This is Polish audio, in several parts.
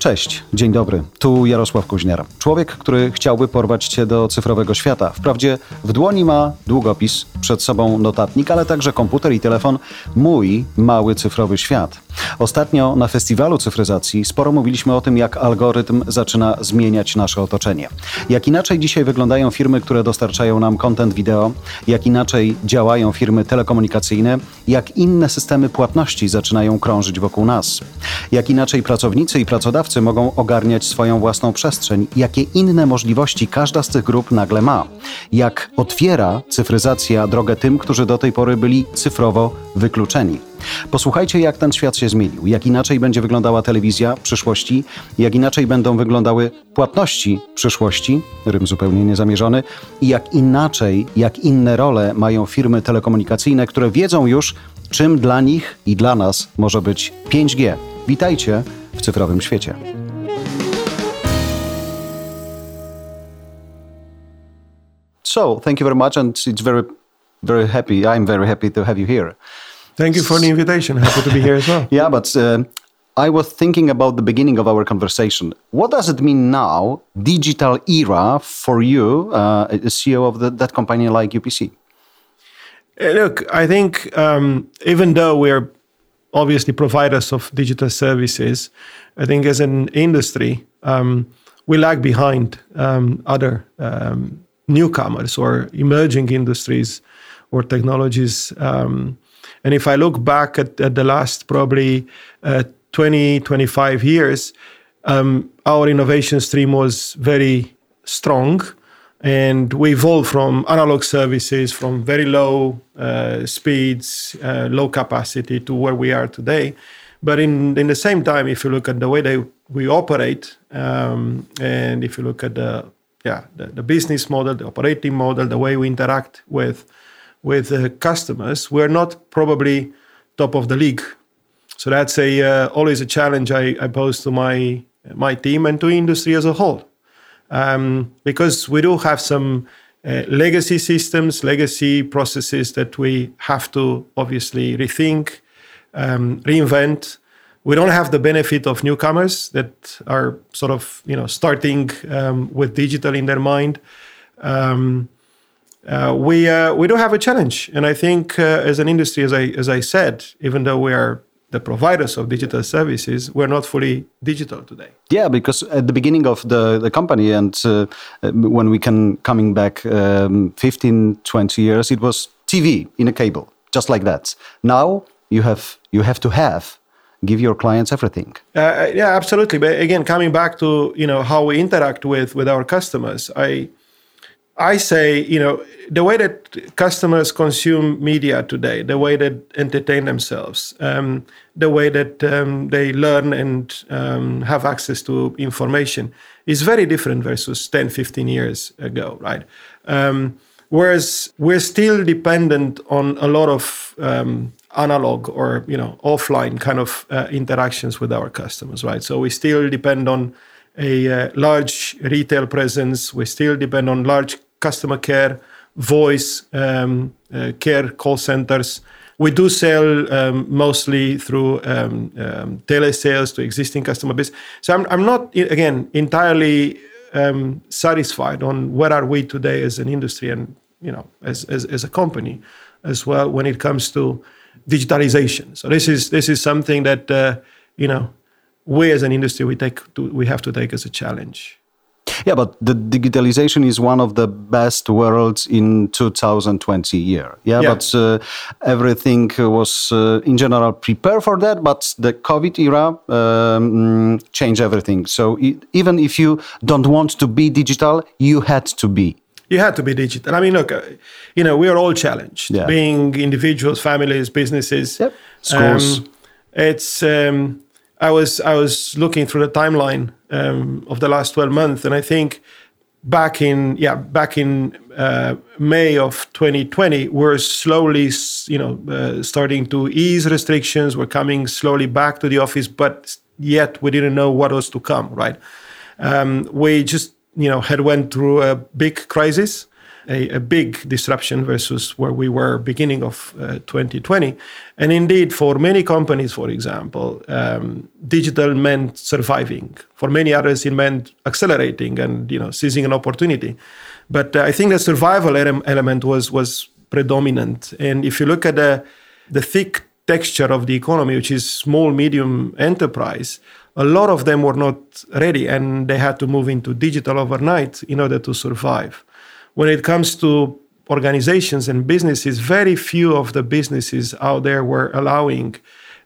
Cześć, dzień dobry, tu Jarosław Kuźniar. Człowiek, który chciałby porwać się do cyfrowego świata. Wprawdzie w dłoni ma długopis, przed sobą notatnik, ale także komputer i telefon. Mój mały cyfrowy świat. Ostatnio na festiwalu cyfryzacji sporo mówiliśmy o tym, jak algorytm zaczyna zmieniać nasze otoczenie. Jak inaczej dzisiaj wyglądają firmy, które dostarczają nam content wideo, jak inaczej działają firmy telekomunikacyjne, jak inne systemy płatności zaczynają krążyć wokół nas. Jak inaczej pracownicy i pracodawcy mogą ogarniać swoją własną przestrzeń, jakie inne możliwości każda z tych grup nagle ma. Jak otwiera cyfryzacja drogę tym, którzy do tej pory byli cyfrowo wykluczeni. Posłuchajcie, jak ten świat się zmienił, jak inaczej będzie wyglądała telewizja przyszłości, jak inaczej będą wyglądały płatności przyszłości, rym zupełnie niezamierzony, i jak inaczej, jak inne role mają firmy telekomunikacyjne, które wiedzą już, czym dla nich i dla nas może być 5G. Witajcie w cyfrowym świecie. So, thank you very much, and it's very happy. I'm very happy to have you here. Thank you for the invitation. Happy to be here as well. Yeah, but I was thinking about the beginning of our conversation. What does it mean now, digital era, for you, a CEO of that company like UPC? Look, I think even though we're obviously providers of digital services, I think as an industry, we lag behind other newcomers or emerging industries or technologies. And if I look back at the last probably 20, 25 years, our innovation stream was very strong. And we evolved from analog services, from very low speeds, low capacity to where we are today. But in the same time, if you look at the way that we operate, and if you look at the business model, the operating model, the way we interact with customers, we're not probably top of the league. So that's always a challenge I pose to my team and to industry as a whole. Because we do have some legacy systems, legacy processes that we have to obviously rethink, reinvent. We don't have the benefit of newcomers that are sort of starting with digital in their mind. We do have a challenge, and I think as an industry, as I said, even though we are the providers of digital services, we're not fully digital today. Yeah, because at the beginning of the company and when we coming back 15, 20 years, it was TV in a cable, just like that. Now you have to give your clients everything. Yeah, absolutely. But again, coming back to how we interact with our customers, I say, the way that customers consume media today, the way that entertain themselves, the way that they learn and have access to information is very different versus 10, 15 years ago, right? Whereas we're still dependent on a lot of analog or, offline kind of interactions with our customers, right? So we still depend on a large retail presence. We still depend on large customer care, voice care call centers. We do sell mostly through telesales to existing customer base. So I'm not, again, entirely satisfied on where are we today as an industry and, as a company as well when it comes to digitalization. So this is something that, we as an industry, we have to take as a challenge. Yeah, but the digitalization is one of the best worlds in 2020 year. Yeah. But everything was in general prepared for that, but the COVID era changed everything. So even if you don't want to be digital, you had to be. You had to be digital. I mean, look, we are all challenged, being individuals, families, businesses. Yep. Schools. I was looking through the timeline of the last 12 months, and I think back in May of 2020, we're slowly, starting to ease restrictions. We're coming slowly back to the office, but yet we didn't know what was to come. Right? We just, had went through a big crisis. a big disruption versus where we were beginning of 2020. And indeed, for many companies, for example, digital meant surviving. For many others, it meant accelerating and seizing an opportunity. But I think the survival element was predominant. And if you look at the thick texture of the economy, which is small, medium enterprise, a lot of them were not ready and they had to move into digital overnight in order to survive. When it comes to organizations and businesses, very few of the businesses out there were allowing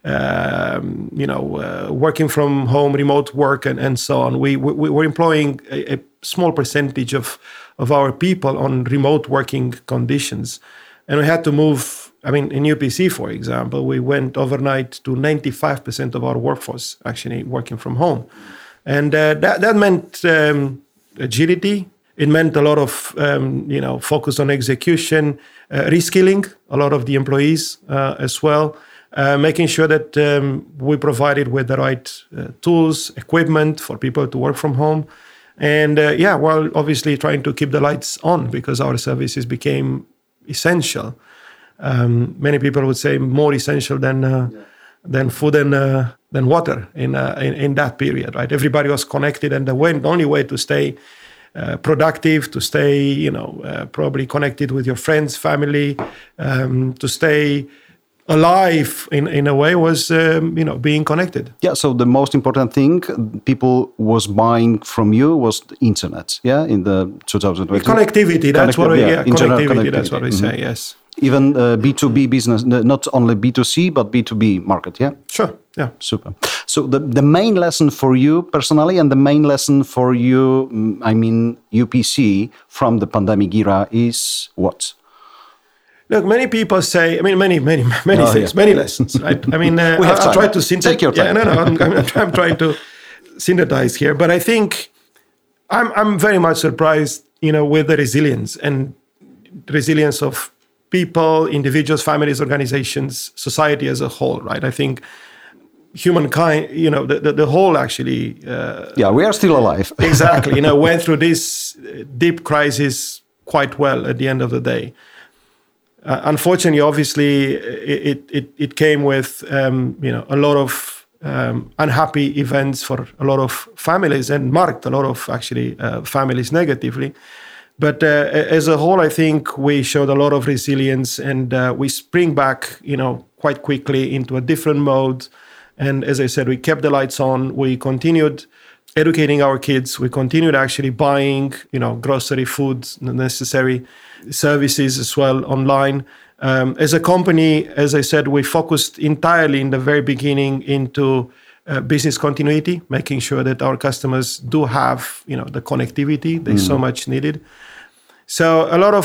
working from home, remote work, and so on. We were employing a small percentage of our people on remote working conditions. And we had to move, in UPC, for example, we went overnight to 95% of our workforce actually working from home. And that meant agility. It meant a lot of, focus on execution, reskilling a lot of the employees as well, making sure that we provided with the right tools, equipment for people to work from home. And while obviously trying to keep the lights on because our services became essential. Many people would say more essential than food and than water in that period, right? Everybody was connected, and the only way to stay productive, to stay, probably connected with your friends, family, to stay alive in a way was, being connected. Yeah, so the most important thing people was buying from you was the internet, yeah, in the 2020. Connectivity, that's what connectivity, that's what we say, yes. Even B2B business, not only B2C, but B2B market, yeah? Sure, yeah. Super. So the main lesson for you personally and the main lesson for you, UPC from the pandemic era is what? Look, many people say, many things, many lessons, right? I'll try to synthesize. Take your time. Yeah, I'm trying to synthesize here. But I think I'm very much surprised, with the resilience of people, individuals, families, organizations, society as a whole, right? I think humankind, the whole actually... we are still alive. Exactly. Went through this deep crisis quite well at the end of the day. Unfortunately, obviously, it came with, a lot of unhappy events for a lot of families and marked a lot of actually families negatively. But as a whole, I think we showed a lot of resilience and we spring back, quite quickly into a different mode. And as I said, we kept the lights on. We continued educating our kids. We continued actually buying, grocery, food, necessary services as well online. As a company, as I said, we focused entirely in the very beginning into business continuity, making sure that our customers do have, the connectivity they so much needed. So a lot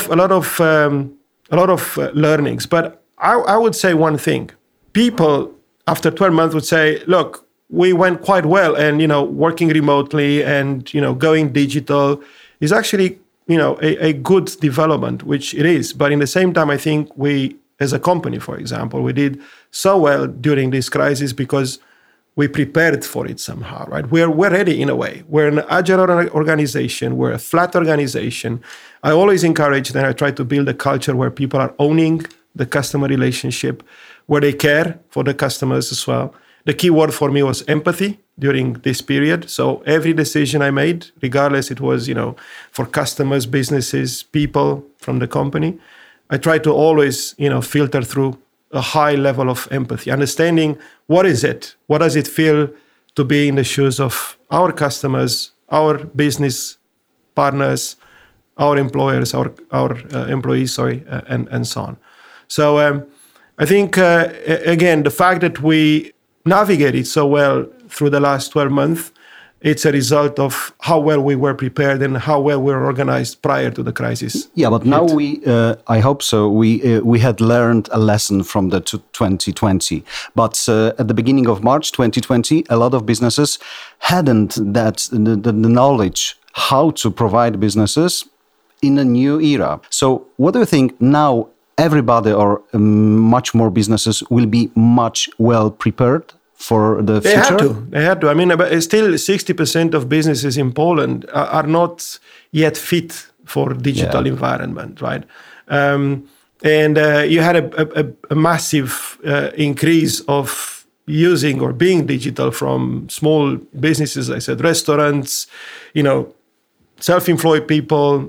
of learnings. But I would say one thing: people after 12 months would say, "Look, we went quite well, and working remotely and going digital is actually a good development," which it is. But in the same time, I think we, as a company, for example, we did so well during this crisis because we prepared for it somehow, right? We're ready in a way. We're an agile organization. We're a flat organization. I always encourage and I try to build a culture where people are owning the customer relationship, where they care for the customers as well. The key word for me was empathy during this period. So every decision I made, regardless it was, for customers, businesses, people from the company, I try to always, filter through a high level of empathy, understanding what is it? What does it feel to be in the shoes of our customers, our business partners, our employers, our employees, and so on. So I think, again, the fact that we navigated so well through the last 12 months, it's a result of how well we were prepared and how well we were organized prior to the crisis. Yeah, but now I hope so, we had learned a lesson from the 2020. But at the beginning of March 2020, a lot of businesses hadn't the knowledge how to provide businesses in a new era. So what do you think now? Everybody or much more businesses will be much well prepared for the future? They had to. Still 60% of businesses in Poland are not yet fit for digital environment, right? And you had a massive increase of using or being digital from small businesses. I said restaurants, self-employed people.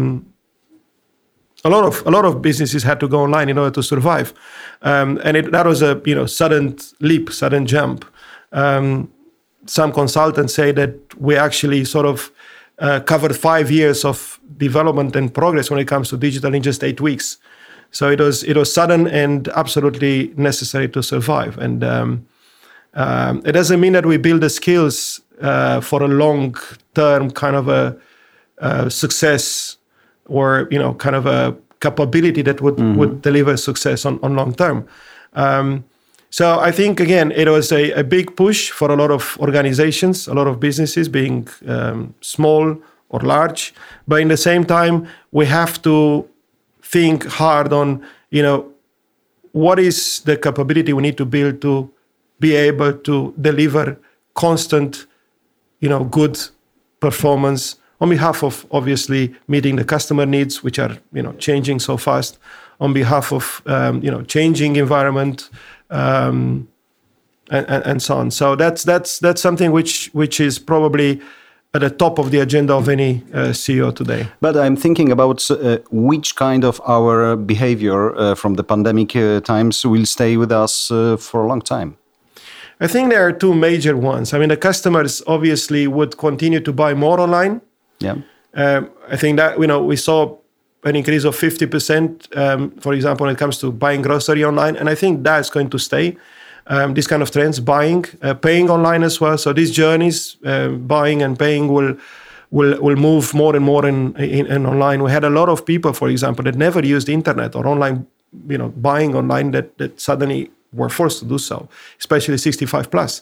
A lot of businesses had to go online in order to survive, and that was a sudden leap, sudden jump. Some consultants say that we actually sort of covered 5 years of development and progress when it comes to digital in just 8 weeks. So it was sudden and absolutely necessary to survive. And it doesn't mean that we build the skills for a long-term kind of a success, or kind of a capability that would deliver success on long term. So I think, again, it was a big push for a lot of organizations, a lot of businesses, being small or large. But in the same time, we have to think hard on, what is the capability we need to build to be able to deliver constant, good performance on behalf of obviously meeting the customer needs, which are, changing so fast, on behalf of, changing environment, and so on. So that's something which is probably at the top of the agenda of any CEO today. But I'm thinking about which kind of our behavior from the pandemic times will stay with us for a long time. I think there are two major ones. I mean, the customers obviously would continue to buy more online. Yeah. I think that, we saw an increase of 50%, for example, when it comes to buying grocery online. And I think that's going to stay. This kind of trends, buying, paying online as well. So these journeys, buying and paying will move more and more in online. We had a lot of people, for example, that never used the internet or online, buying online that suddenly were forced to do so, especially 65 plus.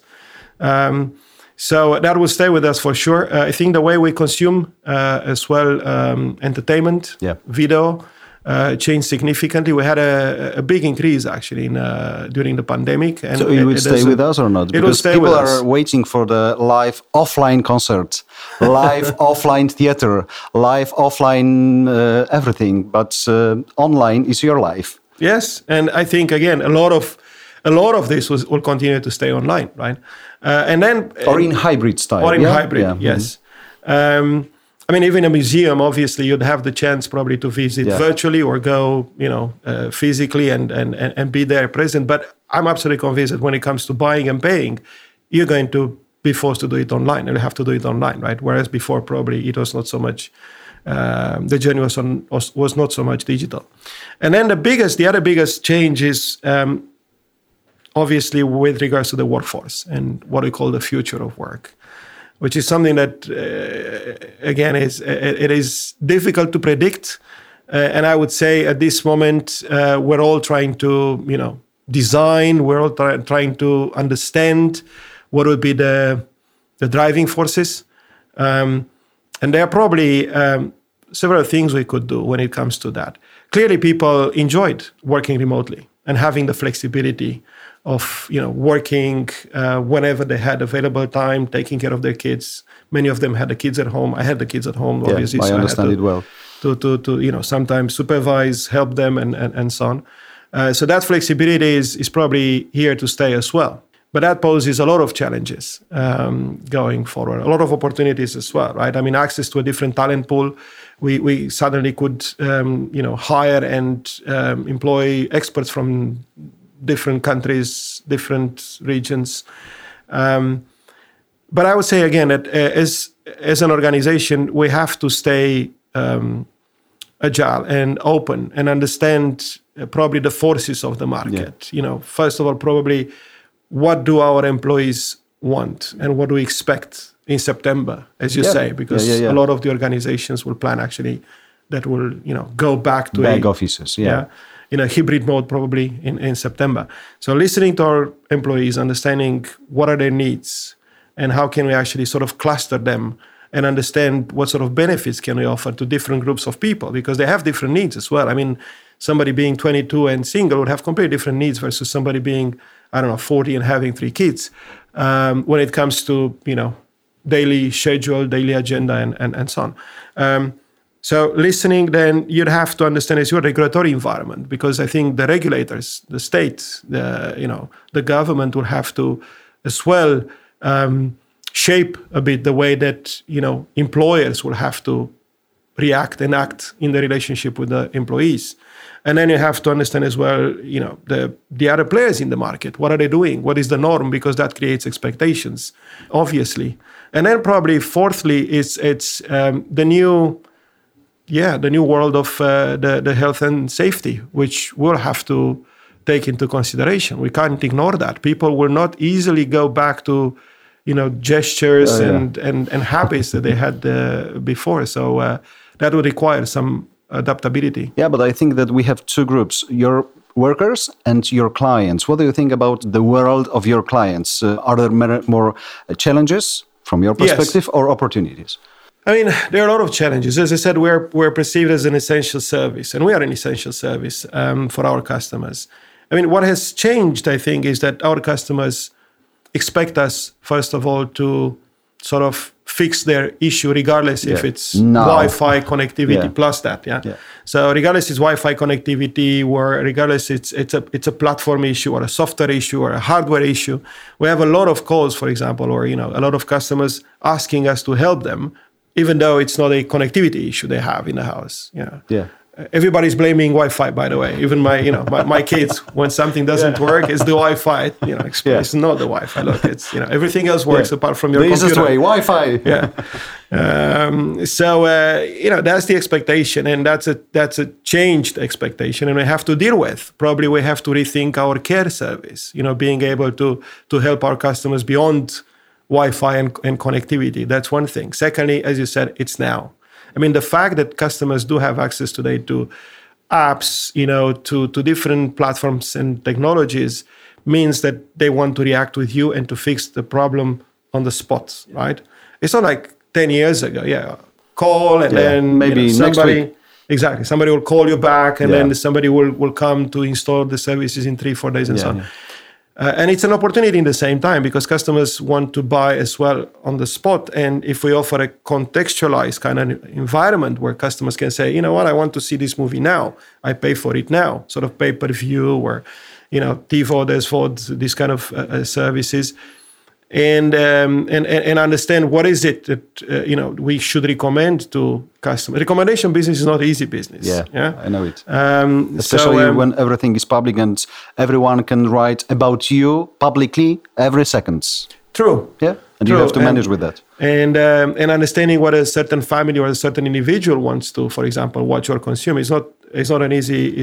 So that will stay with us for sure. I think the way we consume as well, entertainment, video, changed significantly. We had a big increase actually during the pandemic. And so it will stay with us or not? It will stay with us. People are waiting for the live offline concert, live offline theater, live offline everything. But online is your life. Yes, and I think again a lot of this will continue to stay online, right? And then or in hybrid style. Or in hybrid, yes. I mean, even a museum, obviously, you'd have the chance probably to visit virtually or go, physically and be there present. But I'm absolutely convinced that when it comes to buying and paying, you're going to be forced to do it online, and you have to do it online, right? Whereas before, probably it was not so much. The journey was not so much digital. And then the other biggest change is obviously with regards to the workforce and what we call the future of work, which is something that, again, it is difficult to predict. And I would say at this moment, we're all trying to, design, we're all trying to understand what would be the driving forces. And there are probably several things we could do when it comes to that. Clearly, people enjoyed working remotely and having the flexibility of working whenever they had available time, taking care of their kids. Many of them had the kids at home. I had the kids at home, obviously. I understand it well. To sometimes supervise, help them, and so on. So that flexibility is probably here to stay as well. But that poses a lot of challenges going forward, a lot of opportunities as well, right? I mean, access to a different talent pool. We suddenly could, hire and employ experts from different countries, different regions. But I would say, again, that as an organization, we have to stay agile and open and understand probably the forces of the market. Yeah. First of all, probably what do our employees want and what do we expect in September, as you say, because a lot of the organizations will plan actually that will, go back to back offices, in a hybrid mode probably in September. So listening to our employees, understanding what are their needs and how can we actually sort of cluster them and understand what sort of benefits can we offer to different groups of people, because they have different needs as well. I mean, somebody being 22 and single would have completely different needs versus somebody being, 40 and having 3 kids. When it comes to, daily schedule, daily agenda, and so on. So listening, then you'd have to understand is your regulatory environment, because I think the regulators, the state, the government will have to as well shape a bit the way that employers will have to react and act in the relationship with the employees. And then you have to understand as well, the other players in the market. What are they doing? What is the norm? Because that creates expectations, obviously. And then probably fourthly, it's the new world of the health and safety, which we'll have to take into consideration. We can't ignore that. People will not easily go back to, gestures and habits that they had before. So that would require some adaptability. Yeah, but I think that we have two groups, your workers and your clients. What do you think about the world of your clients? Are there more challenges from your perspective or opportunities? I mean, there are a lot of challenges. As I said, we're perceived as an essential service, and we are an essential service for our customers. I mean, what has changed, I think, is that our customers expect us, first of all, to sort of fix their issue, regardless if it's Wi-Fi connectivity plus that. Yeah. So regardless it's Wi-Fi connectivity, or regardless it's a platform issue or a software issue or a hardware issue, we have a lot of calls, for example, or a lot of customers asking us to help them, even though it's not a connectivity issue they have in the house. Yeah. Everybody's blaming Wi-Fi, by the way. Even my kids, when something doesn't work, it's the Wi-Fi. It's not the Wi-Fi. Look, it's everything else works apart from your computer. This is way Wi-Fi. So that's the expectation, and that's a changed expectation, and we have to deal with. Probably we have to rethink our care service. Being able to help our customers beyond Wi-Fi and connectivity. That's one thing. Secondly, as you said, it's now. I mean, the fact that customers do have access today to apps, to different platforms and technologies means that they want to react with you and to fix the problem on the spot, right? It's not like 10 years ago, call and then maybe somebody, next week. Exactly, somebody will call you back and then somebody will come to install the services in 3-4 days and so on. And it's an opportunity in the same time, because customers want to buy as well on the spot. And if we offer a contextualized kind of environment where customers can say, I want to see this movie now, I pay for it now, sort of pay-per-view or, TiVo, SVOD, these kind of services. And understand what is it that we should recommend to customers. Recommendation business is not easy business. Yeah, I know it. Especially when everything is public and everyone can write about you publicly every second. True. Yeah, and you have to manage with that. And understanding what a certain family or a certain individual wants to, for example, watch or consume is not an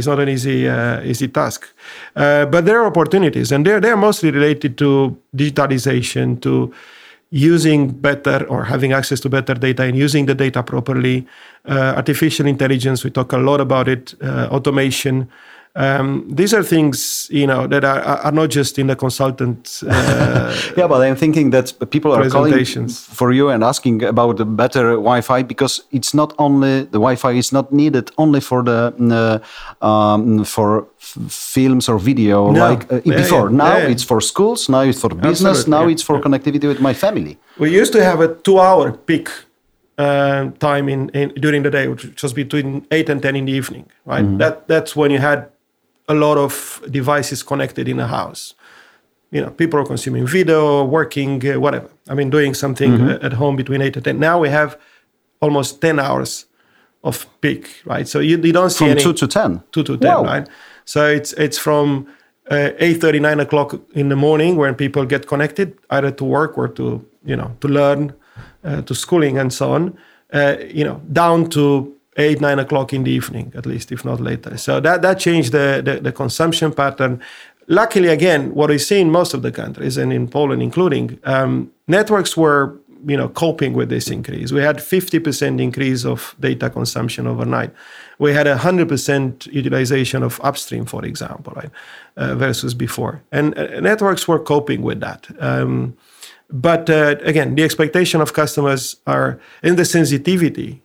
easy task. But there are opportunities, and they're mostly related to digitalization, to using better or having access to better data and using the data properly. Artificial intelligence, we talk a lot about it. Automation. These are things, that are not just in the consultant. But I'm thinking that people are calling for you and asking about the better Wi-Fi, because it's not only the Wi-Fi is not needed only for the for films or video before. Now it's for schools. Now it's for business. Absolutely. Now it's for connectivity with my family. We used to have a 2-hour peak time during the day, which was between 8 and 10 in the evening. Right. Mm-hmm. That's when you had a lot of devices connected in a house. People are consuming video, working, whatever. I mean, doing something at home between 8 and 10. Now we have almost 10 hours of peak, right? So you don't see from 2 to 10. 2 to 10, right? So it's from 8:30, 9 o'clock in the morning when people get connected, either to work or to learn, to schooling and so on, down to 8, 9 o'clock in the evening, at least, if not later. So that changed the consumption pattern. Luckily, again, what we see in most of the countries, and in Poland including, networks were coping with this increase. We had 50% increase of data consumption overnight. We had 100% utilization of upstream, for example, right, versus before. And networks were coping with that. But again, the expectation of customers are in the sensitivity,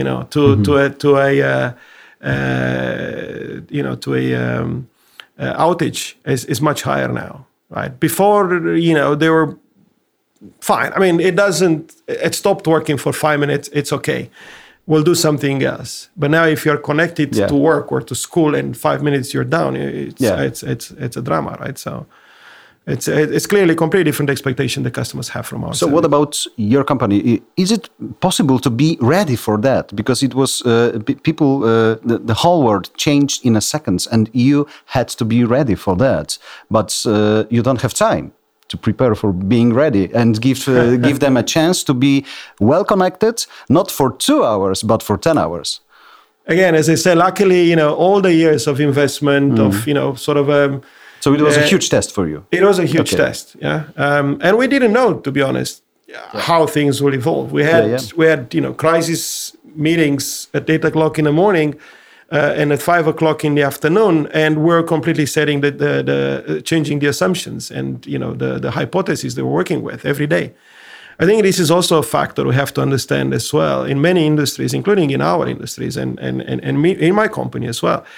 outage is much higher now, right? Before, they were fine. I mean, it stopped working for 5 minutes. It's okay. will do something else. But now if you're connected to work or to school and 5 minutes you're down, it's a drama, right? So it's clearly a completely different expectation the customers have from us. So what about your company? Is it possible to be ready for that? Because it was people, the whole world changed in a second, and you had to be ready for that. But you don't have time to prepare for being ready and give them a chance to be well connected, not for 2 hours, but for 10 hours. Again, as I said, luckily, all the years of investment of, sort of... so it was a huge test for you. It was a huge test, yeah. And we didn't know, to be honest, how things will evolve. We had crisis meetings at 8 o'clock in the morning and at 5 o'clock in the afternoon, and we're completely setting the changing the assumptions and the hypotheses that we're working with every day. I think this is also a factor we have to understand as well in many industries, including in our industries and me, in my company as well.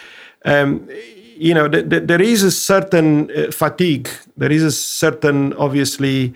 There is a certain fatigue. There is a certain, obviously,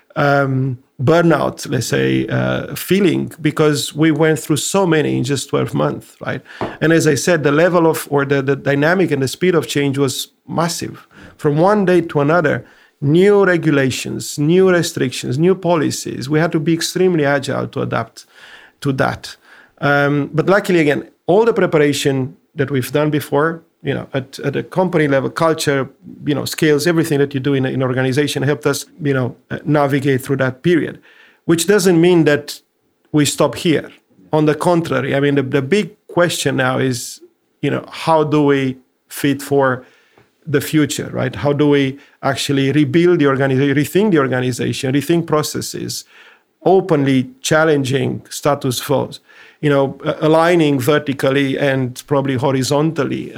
burnout, let's say, feeling, because we went through so many in just 12 months, right? And as I said, the level of, or the dynamic and the speed of change was massive. From one day to another, new regulations, new restrictions, new policies. We had to be extremely agile to adapt to that. But luckily, again, all the preparation that we've done before, at a company level, culture, skills, everything that you do in an organization helped us, navigate through that period, which doesn't mean that we stop here. On the contrary, I mean, the big question now is, how do we fit for the future, right? How do we actually rebuild the organization, rethink the organization, rethink processes, openly challenging status quo, aligning vertically and probably horizontally,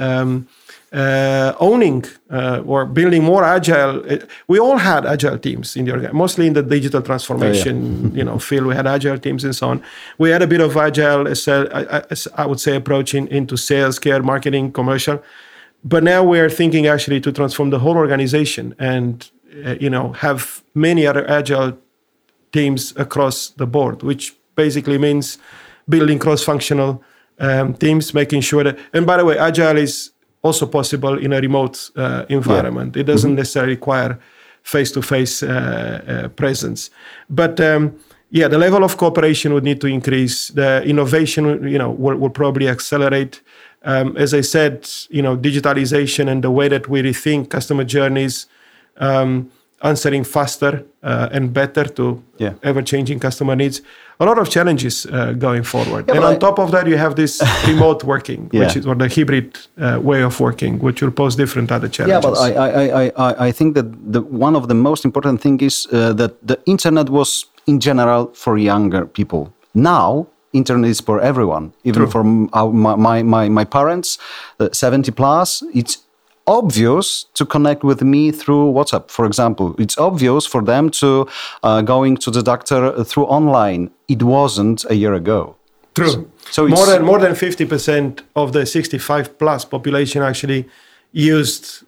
owning or building more agile. We all had agile teams in the organization, mostly in the digital transformation field. We had agile teams and so on. We had a bit of agile, I would say, approach into sales, care, marketing, commercial. But now we're thinking actually to transform the whole organization and, have many other agile teams across the board, which basically means building cross-functional teams, making sure that, and by the way, agile is also possible in a remote environment. It doesn't necessarily require face-to-face presence. But the level of cooperation would need to increase. The innovation, will probably accelerate. As I said, digitalization and the way that we rethink customer journeys, answering faster and better to ever-changing customer needs. A lot of challenges going forward. Yeah, and on top of that, you have this remote working, which is, or the hybrid way of working, which will pose different other challenges. Yeah, but I think that one of the most important thing is that the internet was, in general, for younger people. Now, internet is for everyone, even for my parents, 70 plus. It's obvious to connect with me through WhatsApp, for example. It's obvious for them to going to the doctor through online. It wasn't a year ago. True. So more than 50% of the 65 plus population actually used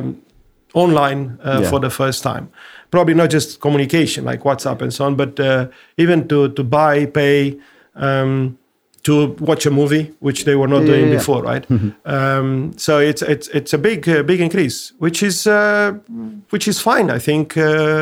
online for the first time. Probably not just communication like WhatsApp and so on, but even to buy, pay, to watch a movie, which they were not doing before, right? Mm-hmm. So it's a big increase, which is fine. I think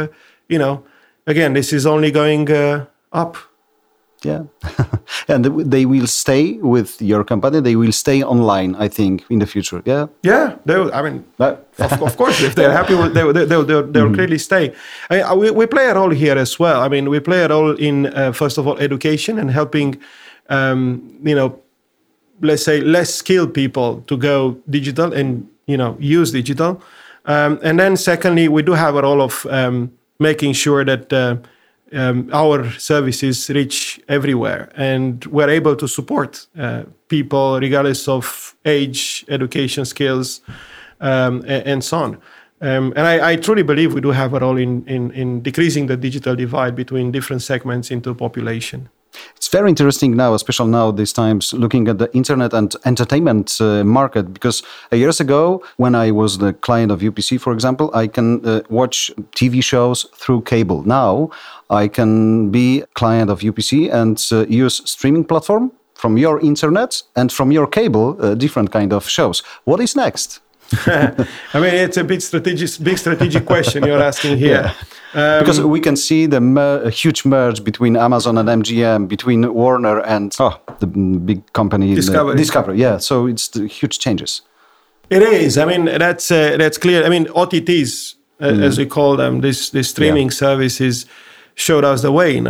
again, this is only going up. Yeah, and they will stay with your company. They will stay online, I think, in the future. Yeah. Yeah, they will. I mean, of course, if they're happy, they'll clearly stay. I mean, we play a role here as well. I mean, we play a role in first of all education and helping. Let's say less skilled people to go digital and, use digital. And then secondly, we do have a role of making sure that our services reach everywhere and we're able to support people regardless of age, education, skills, and so on. And I truly believe we do have a role in decreasing the digital divide between different segments into population. It's very interesting now, especially now these times, looking at the internet and entertainment market, because years ago, when I was the client of UPC, for example, I can watch TV shows through cable. Now, I can be client of UPC and use streaming platform from your internet and from your cable, different kind of shows. What is next? I mean, it's a big strategic question you're asking here. Yeah. Because we can see a huge merge between Amazon and MGM, between Warner and the big company Discovery. Yeah, so it's the huge changes. It is. I mean, that's clear. I mean, OTTs, as we call them, these streaming services, showed us the way.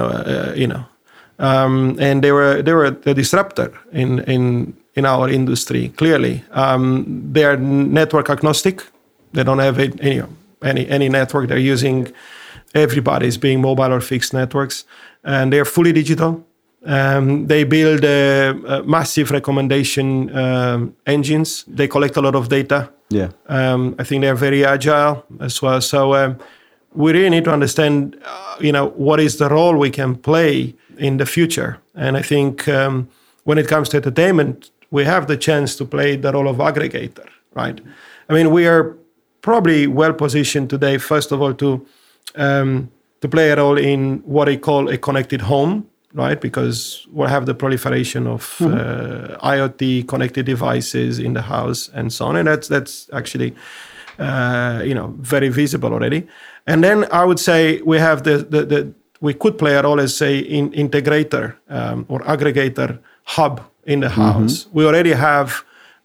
And they were the disruptor in our industry. Clearly, they are network agnostic. They don't have any network they're using. Everybody's being mobile or fixed networks, and they're fully digital. They build massive recommendation engines. They collect a lot of data. Yeah. I think they're very agile as well. So we really need to understand, what is the role we can play in the future. And I think when it comes to entertainment, we have the chance to play the role of aggregator, right? I mean, we are probably well positioned today, first of all, to play a role in what I call a connected home, right? Because we'll have the proliferation of IoT connected devices in the house and so on, and that's actually very visible already. And then I would say we have we could play a role as say integrator or aggregator hub in the house. We already have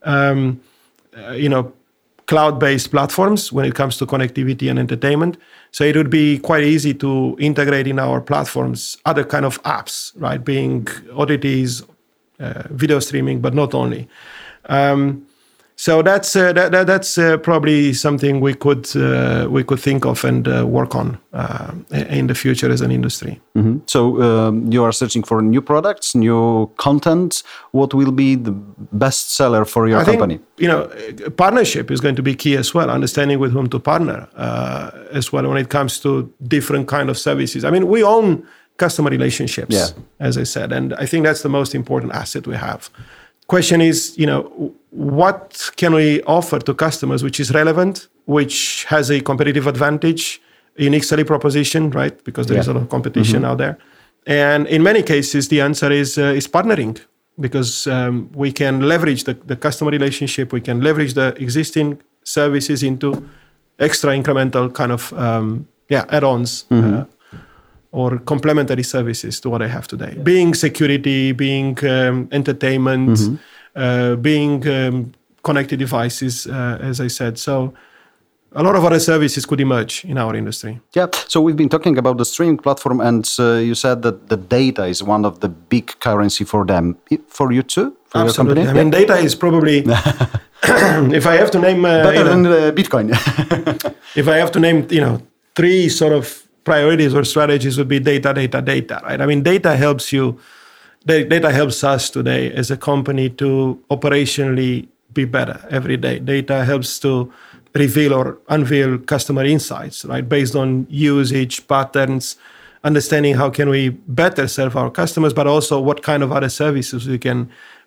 cloud-based platforms when it comes to connectivity and entertainment. So it would be quite easy to integrate in our platforms other kind of apps, right? Being OTTs, video streaming, but not only. So that's probably something we could think of and work on in the future as an industry. Mm-hmm. So you are searching for new products, new content. What will be the best seller for your company? Partnership is going to be key as well. Understanding with whom to partner as well when it comes to different kind of services. I mean, we own customer relationships, as I said, and I think that's the most important asset we have. Question is, what can we offer to customers which is relevant, which has a competitive advantage, unique selling proposition, right? Because there is a lot of competition out there. And in many cases, the answer is partnering, because we can leverage the customer relationship, we can leverage the existing services into extra incremental kind of add-ons or complementary services to what I have today. Being security, being entertainment, being connected devices, as I said. So a lot of other services could emerge in our industry. Yeah. So we've been talking about the streaming platform, and you said that the data is one of the big currency for them. For you too? For Absolutely. your company? I mean, data is probably, if I have to name... better than Bitcoin. If I have to name, three sort of priorities or strategies would be data, right? I mean, data helps us today as a company to operationally be better every day. Data helps to reveal or unveil customer insights, right? Based on usage patterns, understanding how can we better serve our customers, but also what kind of other services we can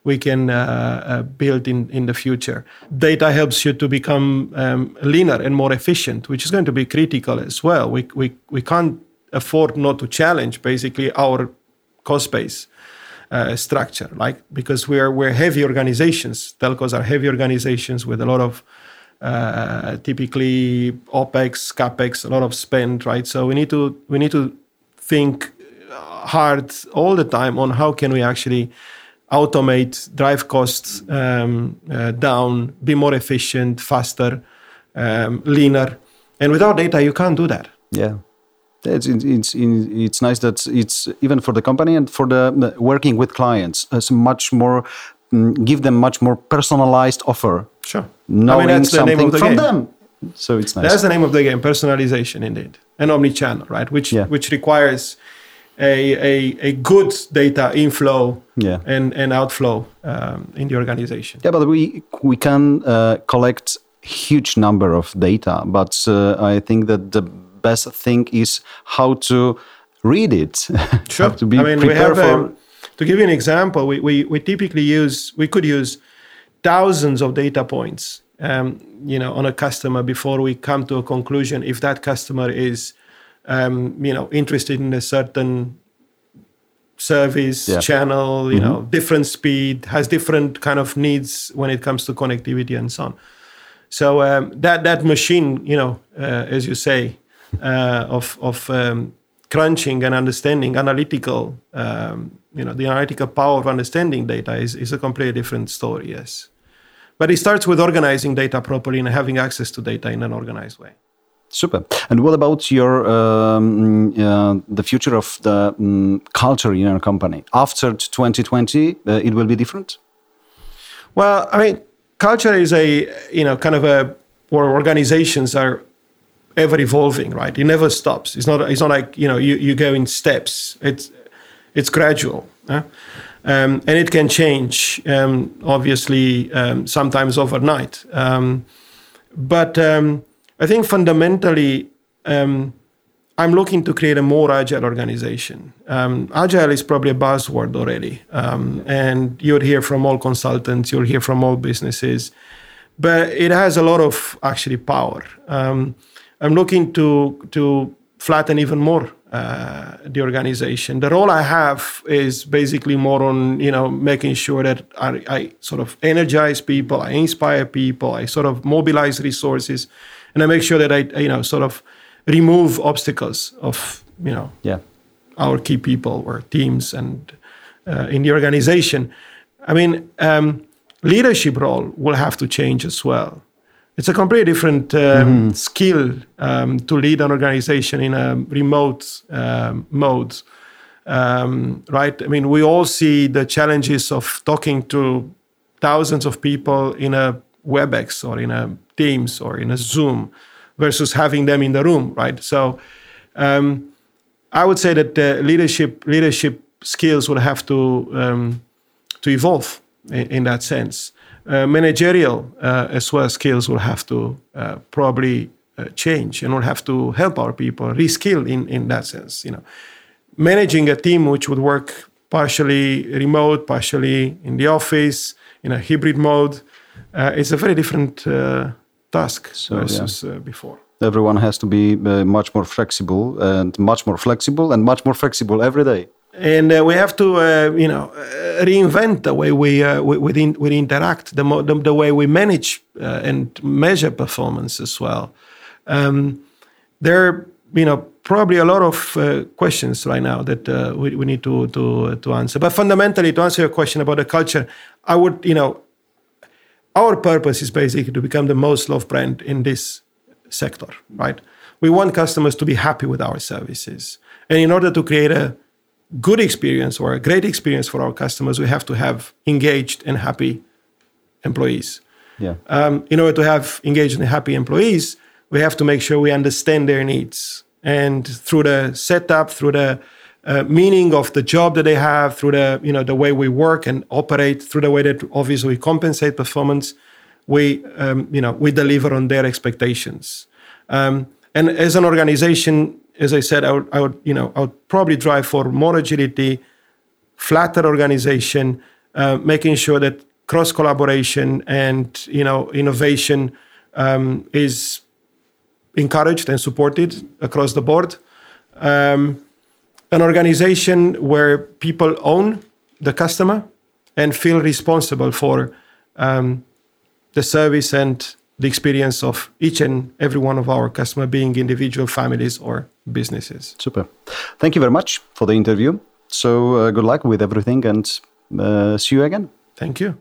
build in the future. Data helps you to become leaner and more efficient, which is going to be critical as well. We can't afford not to challenge basically our cost base structure, like, because we're heavy organizations. Telcos are heavy organizations with a lot of typically OPEX, CAPEX, a lot of spend, right? So we need to think hard all the time on how can we actually automate, drive costs down, be more efficient, faster, leaner. And without data, you can't do that. Yeah. It's nice that it's even for the company and for the working with clients, it's much more, give them much more personalized offer. Sure. Knowing that's the name something of the from game. them. So it's nice. That's the name of the game, personalization indeed. And omnichannel, right? Which requires a good data inflow and outflow in the organization. Yeah, but we can collect huge number of data, but I think that the best thing is how to read it. Sure. To be prepared for. To give you an example, we typically could use thousands of data points, on a customer before we come to a conclusion if that customer is, interested in a certain service channel, you know, different speed, has different kind of needs when it comes to connectivity and so on. So that machine, you know, as you say, of crunching and understanding analytical, you know, the analytical power of understanding data is a completely different story, yes. But it starts with organizing data properly and having access to data in an organized way. Super. And what about your the future of the culture in your company? After 2020, it will be different? Well, I mean, culture is a, you know, kind of where organizations are ever evolving, right? It never stops. It's not like, you know, you go in steps. It's gradual. And it can change, obviously, sometimes overnight. But I think fundamentally, I'm looking to create a more agile organization. Agile is probably a buzzword already. And you'll hear from all consultants, you'll hear from all businesses. But it has a lot of actually power. I'm looking to flatten even more the organization. The role I have is basically more on, you know, making sure that I sort of energize people, I inspire people, I sort of mobilize resources, and I make sure that I, you know, sort of remove obstacles of, you know, our key people or teams and in the organization. I mean, leadership role will have to change as well. It's a completely different skill to lead an organization in a remote mode, right? I mean, we all see the challenges of talking to thousands of people in a WebEx or in a Teams or in a Zoom versus having them in the room, right? So I would say that the leadership skills will have to evolve in that sense. Managerial as well skills will have to probably change, and we'll have to help our people reskill in that sense. You know, managing a team which would work partially remote, partially in the office, in a hybrid mode, is a very different task versus before. Everyone has to be much more flexible and much more flexible every day. And we have to, you know, reinvent the way we interact, the way we manage and measure performance as well. There are, you know, probably a lot of questions right now that we need to answer. But fundamentally, to answer your question about the culture, I would, you know, our purpose is basically to become the most loved brand in this sector, right? We want customers to be happy with our services. And in order to create a good experience or a great experience for our customers, we have to have engaged and happy employees. In order to have engaged and happy employees, we have to make sure we understand their needs. And through the setup, through the meaning of the job that they have, through the, you know, the way we work and operate, through the way that obviously we compensate performance, we deliver on their expectations. And as an organization, as I said, I would probably drive for more agility, flatter organization, making sure that cross collaboration and, you know, innovation is encouraged and supported across the board. An organization where people own the customer and feel responsible for the service and the experience of each and every one of our customers, being individual families or businesses. Super. Thank you very much for the interview. So good luck with everything and see you again. Thank you.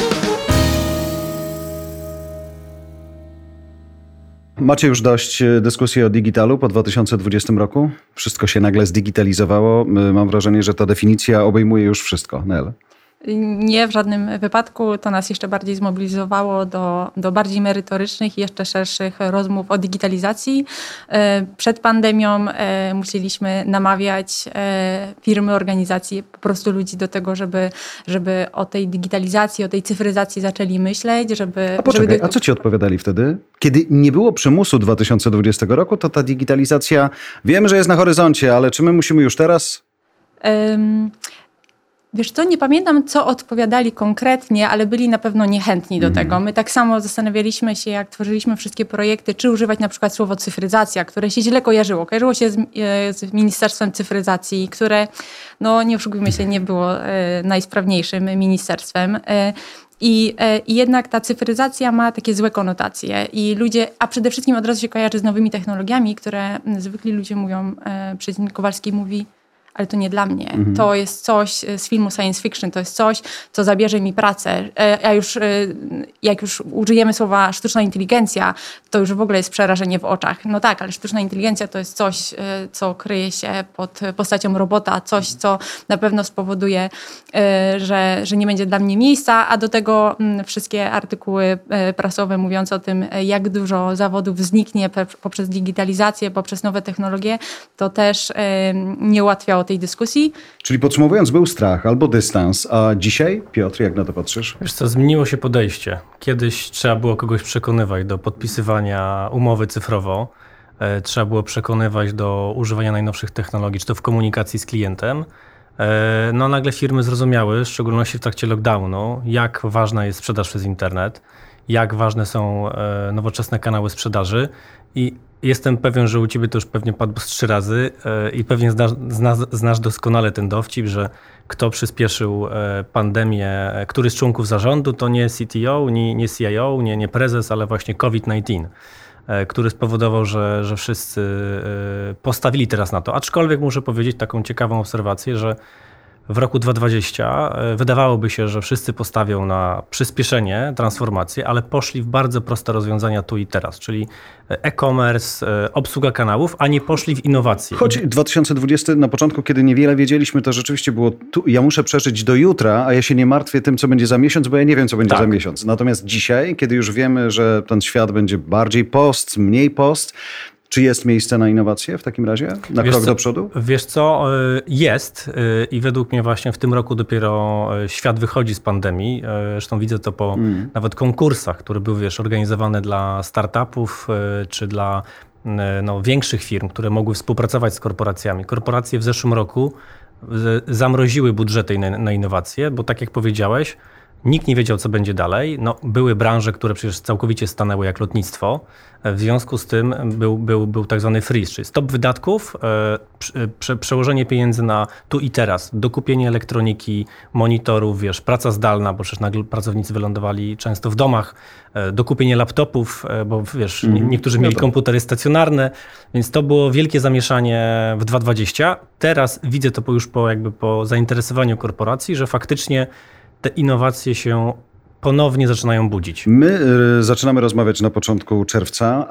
Macie już dość dyskusji o digitalu po 2020 roku? Wszystko się nagle zdigitalizowało. Mam wrażenie, że ta definicja obejmuje już wszystko. Nel? Nie, w żadnym wypadku. To nas jeszcze bardziej zmobilizowało do bardziej merytorycznych i jeszcze szerszych rozmów o digitalizacji. Przed pandemią musieliśmy namawiać firmy, organizacje, po prostu ludzi do tego, żeby o tej digitalizacji, o tej cyfryzacji zaczęli myśleć, żeby... A co ci odpowiadali wtedy? Kiedy nie było przymusu 2020 roku, to ta digitalizacja, wiemy, że jest na horyzoncie, ale czy my musimy już teraz... Wiesz co, nie pamiętam, co odpowiadali konkretnie, ale byli na pewno niechętni do tego. My tak samo zastanawialiśmy się, jak tworzyliśmy wszystkie projekty, czy używać na przykład słowo cyfryzacja, które się źle kojarzyło. Kojarzyło się z Ministerstwem Cyfryzacji, które, no nie oszukujmy się, nie było najsprawniejszym ministerstwem. I jednak ta cyfryzacja ma takie złe konotacje i ludzie, a przede wszystkim od razu się kojarzy z nowymi technologiami, które zwykli ludzie mówią, przeciwnik Kowalski mówi, ale to nie dla mnie. To jest coś z filmu science fiction, to jest coś, co zabierze mi pracę. Jak już użyjemy słowa sztuczna inteligencja, to już w ogóle jest przerażenie w oczach. No tak, ale sztuczna inteligencja to jest coś, co kryje się pod postacią robota, coś, co na pewno spowoduje, że nie będzie dla mnie miejsca, a do tego wszystkie artykuły prasowe mówiące o tym, jak dużo zawodów zniknie poprzez digitalizację, poprzez nowe technologie, to też nie ułatwiało tej dyskusji. Czyli podsumowując, był strach albo dystans, a dzisiaj, Piotr, jak na to patrzysz? Wiesz co, zmieniło się podejście. Kiedyś trzeba było kogoś przekonywać do podpisywania umowy cyfrowo, trzeba było przekonywać do używania najnowszych technologii, czy to w komunikacji z klientem. No nagle firmy zrozumiały, w szczególności w trakcie lockdownu, jak ważna jest sprzedaż przez internet, jak ważne są nowoczesne kanały sprzedaży i jestem pewien, że u ciebie to już pewnie padło z 3 razy i pewnie znasz doskonale ten dowcip, że kto przyspieszył pandemię, który z członków zarządu, to nie CTO, nie CIO, nie prezes, ale właśnie COVID-19, który spowodował, że wszyscy postawili teraz na to. Aczkolwiek muszę powiedzieć taką ciekawą obserwację, że w roku 2020 wydawałoby się, że wszyscy postawią na przyspieszenie, transformację, ale poszli w bardzo proste rozwiązania tu i teraz, czyli e-commerce, obsługa kanałów, a nie poszli w innowacje. Choć 2020 na początku, kiedy niewiele wiedzieliśmy, to rzeczywiście było, ja muszę przeżyć do jutra, a ja się nie martwię tym, co będzie za miesiąc, bo ja nie wiem, co będzie za miesiąc. Natomiast dzisiaj, kiedy już wiemy, że ten świat będzie bardziej post, mniej post, czy jest miejsce na innowacje w takim razie? Na krok do przodu? Wiesz co, jest i według mnie właśnie w tym roku dopiero świat wychodzi z pandemii. Zresztą widzę to po nawet konkursach, które były organizowane dla startupów czy dla większych firm, które mogły współpracować z korporacjami. Korporacje w zeszłym roku zamroziły budżety na innowacje, bo tak jak powiedziałeś, nikt nie wiedział, co będzie dalej. Były branże, które przecież całkowicie stanęły, jak lotnictwo. W związku z tym był tak zwany freeze, czyli stop wydatków, przełożenie pieniędzy na tu i teraz, dokupienie elektroniki, monitorów, praca zdalna, bo przecież nagle pracownicy wylądowali często w domach, dokupienie laptopów, bo niektórzy mieli komputery stacjonarne, więc to było wielkie zamieszanie w 2020. Teraz widzę to już po zainteresowaniu korporacji, że faktycznie te innowacje się ponownie zaczynają budzić. My zaczynamy rozmawiać na początku czerwca.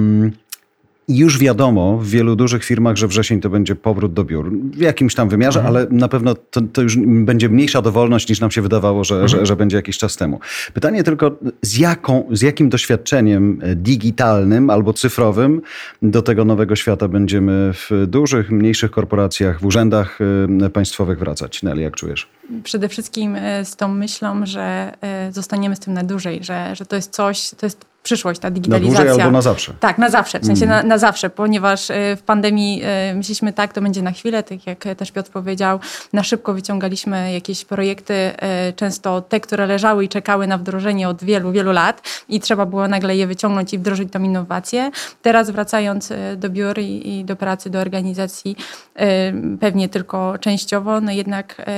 Już wiadomo w wielu dużych firmach, że wrzesień to będzie powrót do biur. W jakimś tam wymiarze, ale na pewno to już będzie mniejsza dowolność niż nam się wydawało, że będzie jakiś czas temu. Pytanie tylko, z jakim doświadczeniem digitalnym albo cyfrowym do tego nowego świata będziemy w dużych, mniejszych korporacjach, w urzędach państwowych wracać? Nelly, jak czujesz? Przede wszystkim z tą myślą, że zostaniemy z tym na dłużej, że to jest coś, to jest przyszłość, ta digitalizacja. Na dłużej albo na zawsze? Tak, na zawsze, w sensie na zawsze, ponieważ w pandemii myśleliśmy tak, to będzie na chwilę, tak jak też Piotr powiedział, na szybko wyciągaliśmy jakieś projekty, często te, które leżały i czekały na wdrożenie od wielu, wielu lat i trzeba było nagle je wyciągnąć i wdrożyć tą innowację. Teraz wracając do biur i do pracy, do organizacji, pewnie tylko częściowo, jednak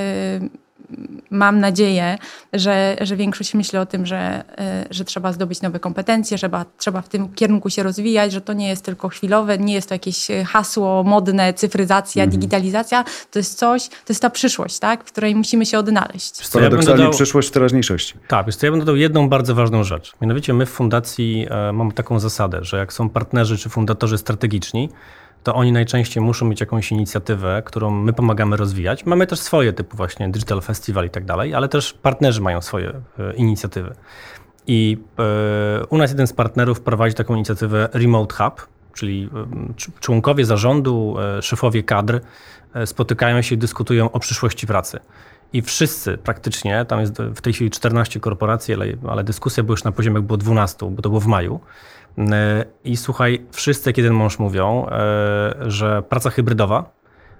mam nadzieję, że większość myśli o tym, że trzeba zdobyć nowe kompetencje, trzeba w tym kierunku się rozwijać, że to nie jest tylko chwilowe, nie jest to jakieś hasło modne, cyfryzacja, digitalizacja. To jest coś, to jest ta przyszłość, tak, w której musimy się odnaleźć. Paradoksalnie przyszłość w teraźniejszości. Tak, ja bym dodał jedną bardzo ważną rzecz. Mianowicie my w fundacji mamy taką zasadę, że jak są partnerzy czy fundatorzy strategiczni, to oni najczęściej muszą mieć jakąś inicjatywę, którą my pomagamy rozwijać. Mamy też swoje typu właśnie Digital Festival i tak dalej, ale też partnerzy mają swoje inicjatywy. I u nas jeden z partnerów prowadzi taką inicjatywę Remote Hub, czyli członkowie zarządu, szefowie kadr spotykają się i dyskutują o przyszłości pracy. I wszyscy praktycznie, tam jest w tej chwili 14 korporacji, ale dyskusja była już na poziomie, było 12, bo to było w maju. I słuchaj, wszyscy jak jeden mąż mówią, że praca hybrydowa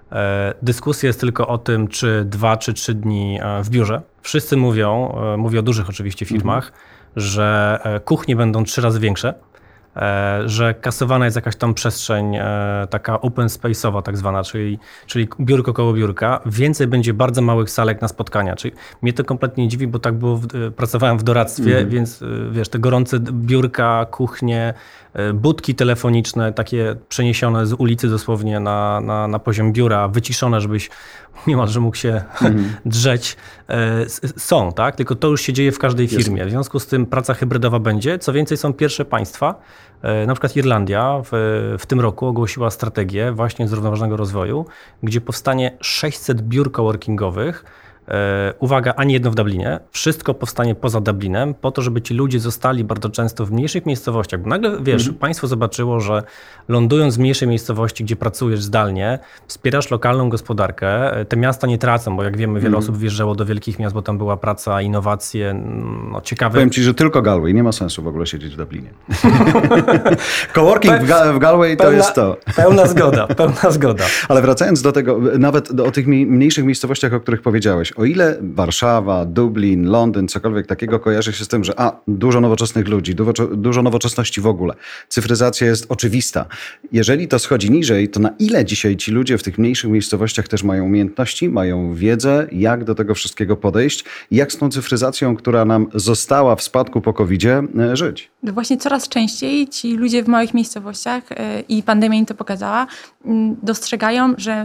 Dyskusja jest tylko o tym, czy 2 czy 3 dni w biurze. Wszyscy mówią, mówię o dużych oczywiście firmach, że kuchnie będą 3 razy większe, że kasowana jest jakaś tam przestrzeń taka open space'owa tak zwana, czyli biurko koło biurka. Więcej będzie bardzo małych salek na spotkania. Czyli mnie to kompletnie nie dziwi, bo tak było, pracowałem w doradztwie, więc wiesz, te gorące biurka, kuchnie, budki telefoniczne, takie przeniesione z ulicy dosłownie na poziom biura, wyciszone, żebyś niemalże mógł się drzeć, są, tak? Tylko to już się dzieje w każdej firmie. W związku z tym praca hybrydowa będzie. Co więcej, są pierwsze państwa, na przykład Irlandia w tym roku ogłosiła strategię właśnie zrównoważonego rozwoju, gdzie powstanie 600 biur coworkingowych. Uwaga, ani jedno w Dublinie. Wszystko powstanie poza Dublinem po to, żeby ci ludzie zostali bardzo często w mniejszych miejscowościach. Bo nagle, wiesz, państwo zobaczyło, że lądując w mniejszej miejscowości, gdzie pracujesz zdalnie, wspierasz lokalną gospodarkę. Te miasta nie tracą, bo jak wiemy, wiele osób wjeżdżało do wielkich miast, bo tam była praca, innowacje, no ciekawe. Powiem ci, że tylko Galway. Nie ma sensu w ogóle siedzieć w Dublinie. Coworking w Galway to jest to. Pełna zgoda. Ale wracając do tego, nawet o tych mniejszych miejscowościach, o których powiedziałeś, o ile Warszawa, Dublin, Londyn, cokolwiek takiego kojarzy się z tym, że dużo nowoczesnych ludzi, dużo nowoczesności w ogóle, cyfryzacja jest oczywista. Jeżeli to schodzi niżej, to na ile dzisiaj ci ludzie w tych mniejszych miejscowościach też mają umiejętności, mają wiedzę, jak do tego wszystkiego podejść i jak z tą cyfryzacją, która nam została w spadku po COVID-zie, żyć? Właśnie coraz częściej ci ludzie w małych miejscowościach, i pandemia im to pokazała, dostrzegają, że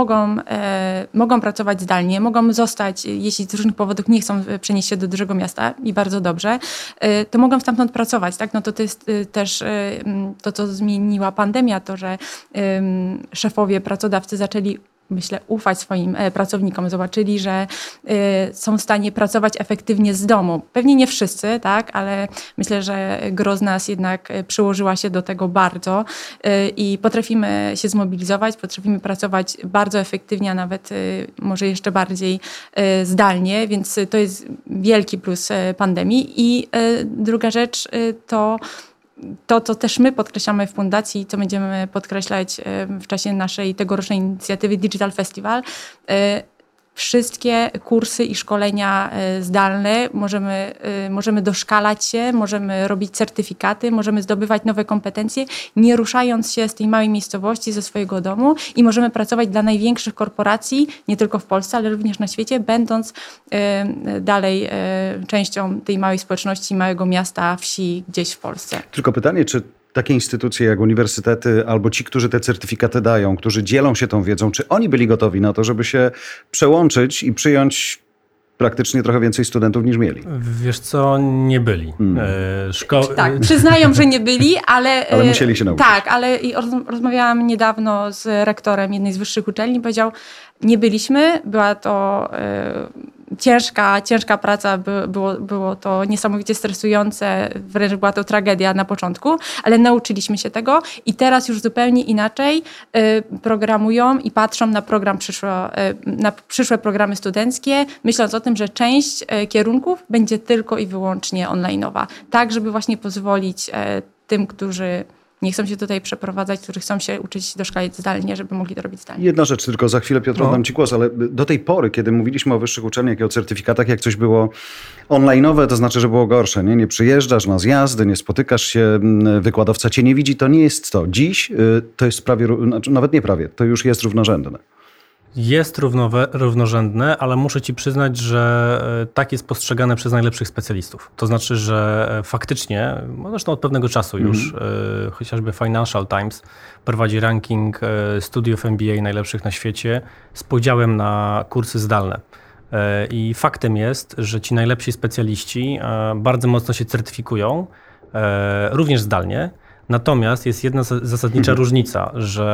mogą pracować zdalnie, mogą zostać, jeśli z różnych powodów nie chcą przenieść się do dużego miasta i bardzo dobrze, to mogą stamtąd pracować. Tak? No to jest też to, co zmieniła pandemia, to, że szefowie, pracodawcy zaczęli, myślę, ufać swoim pracownikom. Zobaczyli, że są w stanie pracować efektywnie z domu. Pewnie nie wszyscy, tak, ale myślę, że gro z nas jednak przyłożyła się do tego bardzo i potrafimy się zmobilizować, potrafimy pracować bardzo efektywnie, a nawet może jeszcze bardziej zdalnie, więc to jest wielki plus pandemii. I druga rzecz to, co też my podkreślamy w fundacji, co będziemy podkreślać w czasie naszej tegorocznej inicjatywy Digital Festival, wszystkie kursy i szkolenia zdalne, możemy doszkalać się, możemy robić certyfikaty, możemy zdobywać nowe kompetencje, nie ruszając się z tej małej miejscowości, ze swojego domu i możemy pracować dla największych korporacji, nie tylko w Polsce, ale również na świecie, będąc dalej częścią tej małej społeczności, małego miasta, wsi gdzieś w Polsce. Tylko pytanie, czy takie instytucje jak uniwersytety albo ci, którzy te certyfikaty dają, którzy dzielą się tą wiedzą, czy oni byli gotowi na to, żeby się przełączyć i przyjąć praktycznie trochę więcej studentów niż mieli? Wiesz co, nie byli. Tak, przyznają, że nie byli, ale... Ale musieli się nauczyć. Tak, ale rozmawiałam niedawno z rektorem jednej z wyższych uczelni, powiedział, nie byliśmy, była to... Ciężka praca, było to niesamowicie stresujące, wręcz była to tragedia na początku, ale nauczyliśmy się tego i teraz już zupełnie inaczej programują i patrzą na na przyszłe programy studenckie, myśląc o tym, że część kierunków będzie tylko i wyłącznie online'owa, tak żeby właśnie pozwolić tym, którzy nie chcą się tutaj przeprowadzać, którzy chcą się uczyć doszkalać zdalnie, żeby mogli to robić zdalnie. Jedna rzecz tylko, za chwilę Piotr oddam ci głos, ale do tej pory, kiedy mówiliśmy o wyższych uczelniach i o certyfikatach, jak coś było online'owe, to znaczy, że było gorsze. Nie przyjeżdżasz na zjazdy, nie spotykasz się, wykładowca cię nie widzi, to nie jest to. Dziś to jest prawie, nawet nie prawie, to już jest równorzędne. Jest równorzędne, ale muszę ci przyznać, że tak jest postrzegane przez najlepszych specjalistów. To znaczy, że faktycznie, zresztą od pewnego czasu już, chociażby Financial Times prowadzi ranking studiów MBA najlepszych na świecie z podziałem na kursy zdalne. I faktem jest, że ci najlepsi specjaliści bardzo mocno się certyfikują, również zdalnie. Natomiast jest jedna zasadnicza różnica,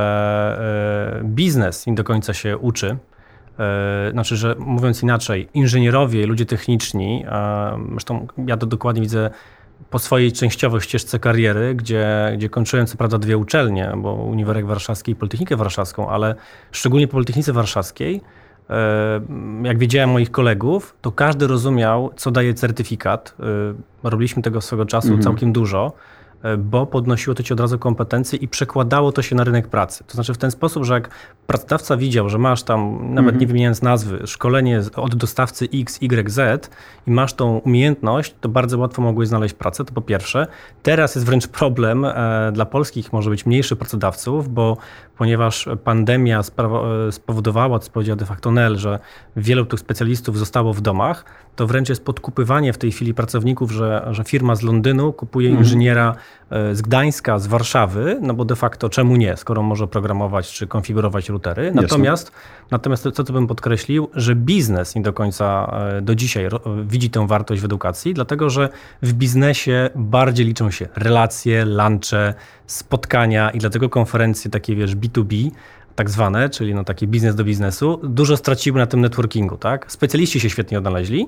że biznes nie do końca się uczy. Znaczy, że mówiąc inaczej, inżynierowie, ludzie techniczni, zresztą ja to dokładnie widzę po swojej częściowej ścieżce kariery, gdzie kończyłem co prawda 2 uczelnie, bo Uniwersytet Warszawski i Politechnikę Warszawską, ale szczególnie po Politechnice Warszawskiej, jak wiedziałem moich kolegów, to każdy rozumiał, co daje certyfikat. Robiliśmy tego swego czasu całkiem dużo. bo podnosiło to ci od razu kompetencje i przekładało to się na rynek pracy. To znaczy w ten sposób, że jak pracodawca widział, że masz tam, nawet nie wymieniając nazwy, szkolenie od dostawcy X, Y, Z i masz tą umiejętność, to bardzo łatwo mogłeś znaleźć pracę, to po pierwsze. Teraz jest wręcz problem dla polskich, może być mniejszych pracodawców, ponieważ pandemia spowodowała, co powiedział de facto Nel, że wielu tych specjalistów zostało w domach, to wręcz jest podkupywanie w tej chwili pracowników, że firma z Londynu kupuje inżyniera z Gdańska, z Warszawy, no bo de facto czemu nie, skoro może programować czy konfigurować routery. Natomiast to, co bym podkreślił, że biznes nie do końca do dzisiaj widzi tę wartość w edukacji, dlatego że w biznesie bardziej liczą się relacje, lunche, spotkania i dlatego konferencje takie, B2B, tak zwane, czyli taki biznes do biznesu, dużo straciły na tym networkingu, tak? Specjaliści się świetnie odnaleźli.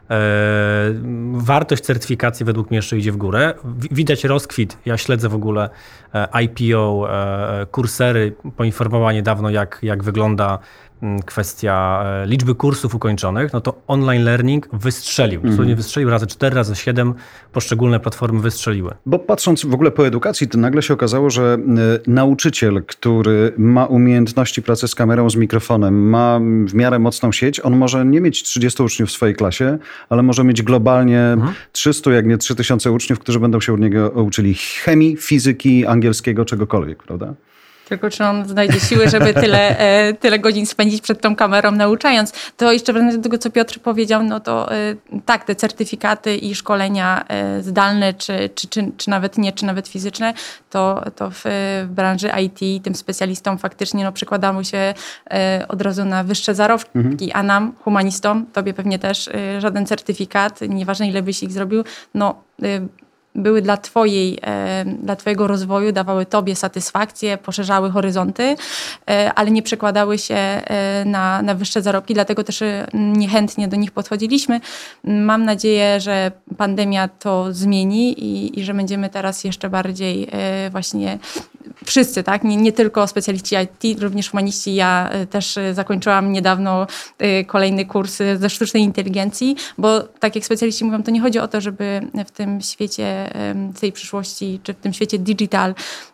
Wartość certyfikacji według mnie jeszcze idzie w górę. Widać rozkwit. Ja śledzę w ogóle IPO, kursery. Poinformowała niedawno, jak wygląda kwestia liczby kursów ukończonych, no to online learning wystrzelił. Dosłownie wystrzelił razy 4, razy 7. Poszczególne platformy wystrzeliły. Bo patrząc w ogóle po edukacji, to nagle się okazało, że nauczyciel, który ma umiejętności pracy z kamerą, z mikrofonem, ma w miarę mocną sieć, on może nie mieć 30 uczniów w swojej klasie, ale może mieć globalnie 300, jak nie 3000 uczniów, którzy będą się od niego uczyli chemii, fizyki, angielskiego, czegokolwiek, prawda? Tylko czy on znajdzie siły, żeby tyle godzin spędzić przed tą kamerą nauczając. To jeszcze wracając do tego, co Piotr powiedział, no to tak, te certyfikaty i szkolenia zdalne, czy nawet nie, czy nawet fizyczne, to w branży IT tym specjalistom faktycznie przekładało się od razu na wyższe zarobki, a nam, humanistom, tobie pewnie też żaden certyfikat, nieważne ile byś ich zrobił, były dla twojego rozwoju, dawały tobie satysfakcję, poszerzały horyzonty, ale nie przekładały się na wyższe zarobki, dlatego też niechętnie do nich podchodziliśmy. Mam nadzieję, że pandemia to zmieni i że będziemy teraz jeszcze bardziej właśnie wszyscy, tak? Nie tylko specjaliści IT, również humaniści. Ja też zakończyłam niedawno kolejny kurs ze sztucznej inteligencji, bo tak jak specjaliści mówią, to nie chodzi o to, żeby w tym świecie tej przyszłości, czy w tym świecie digital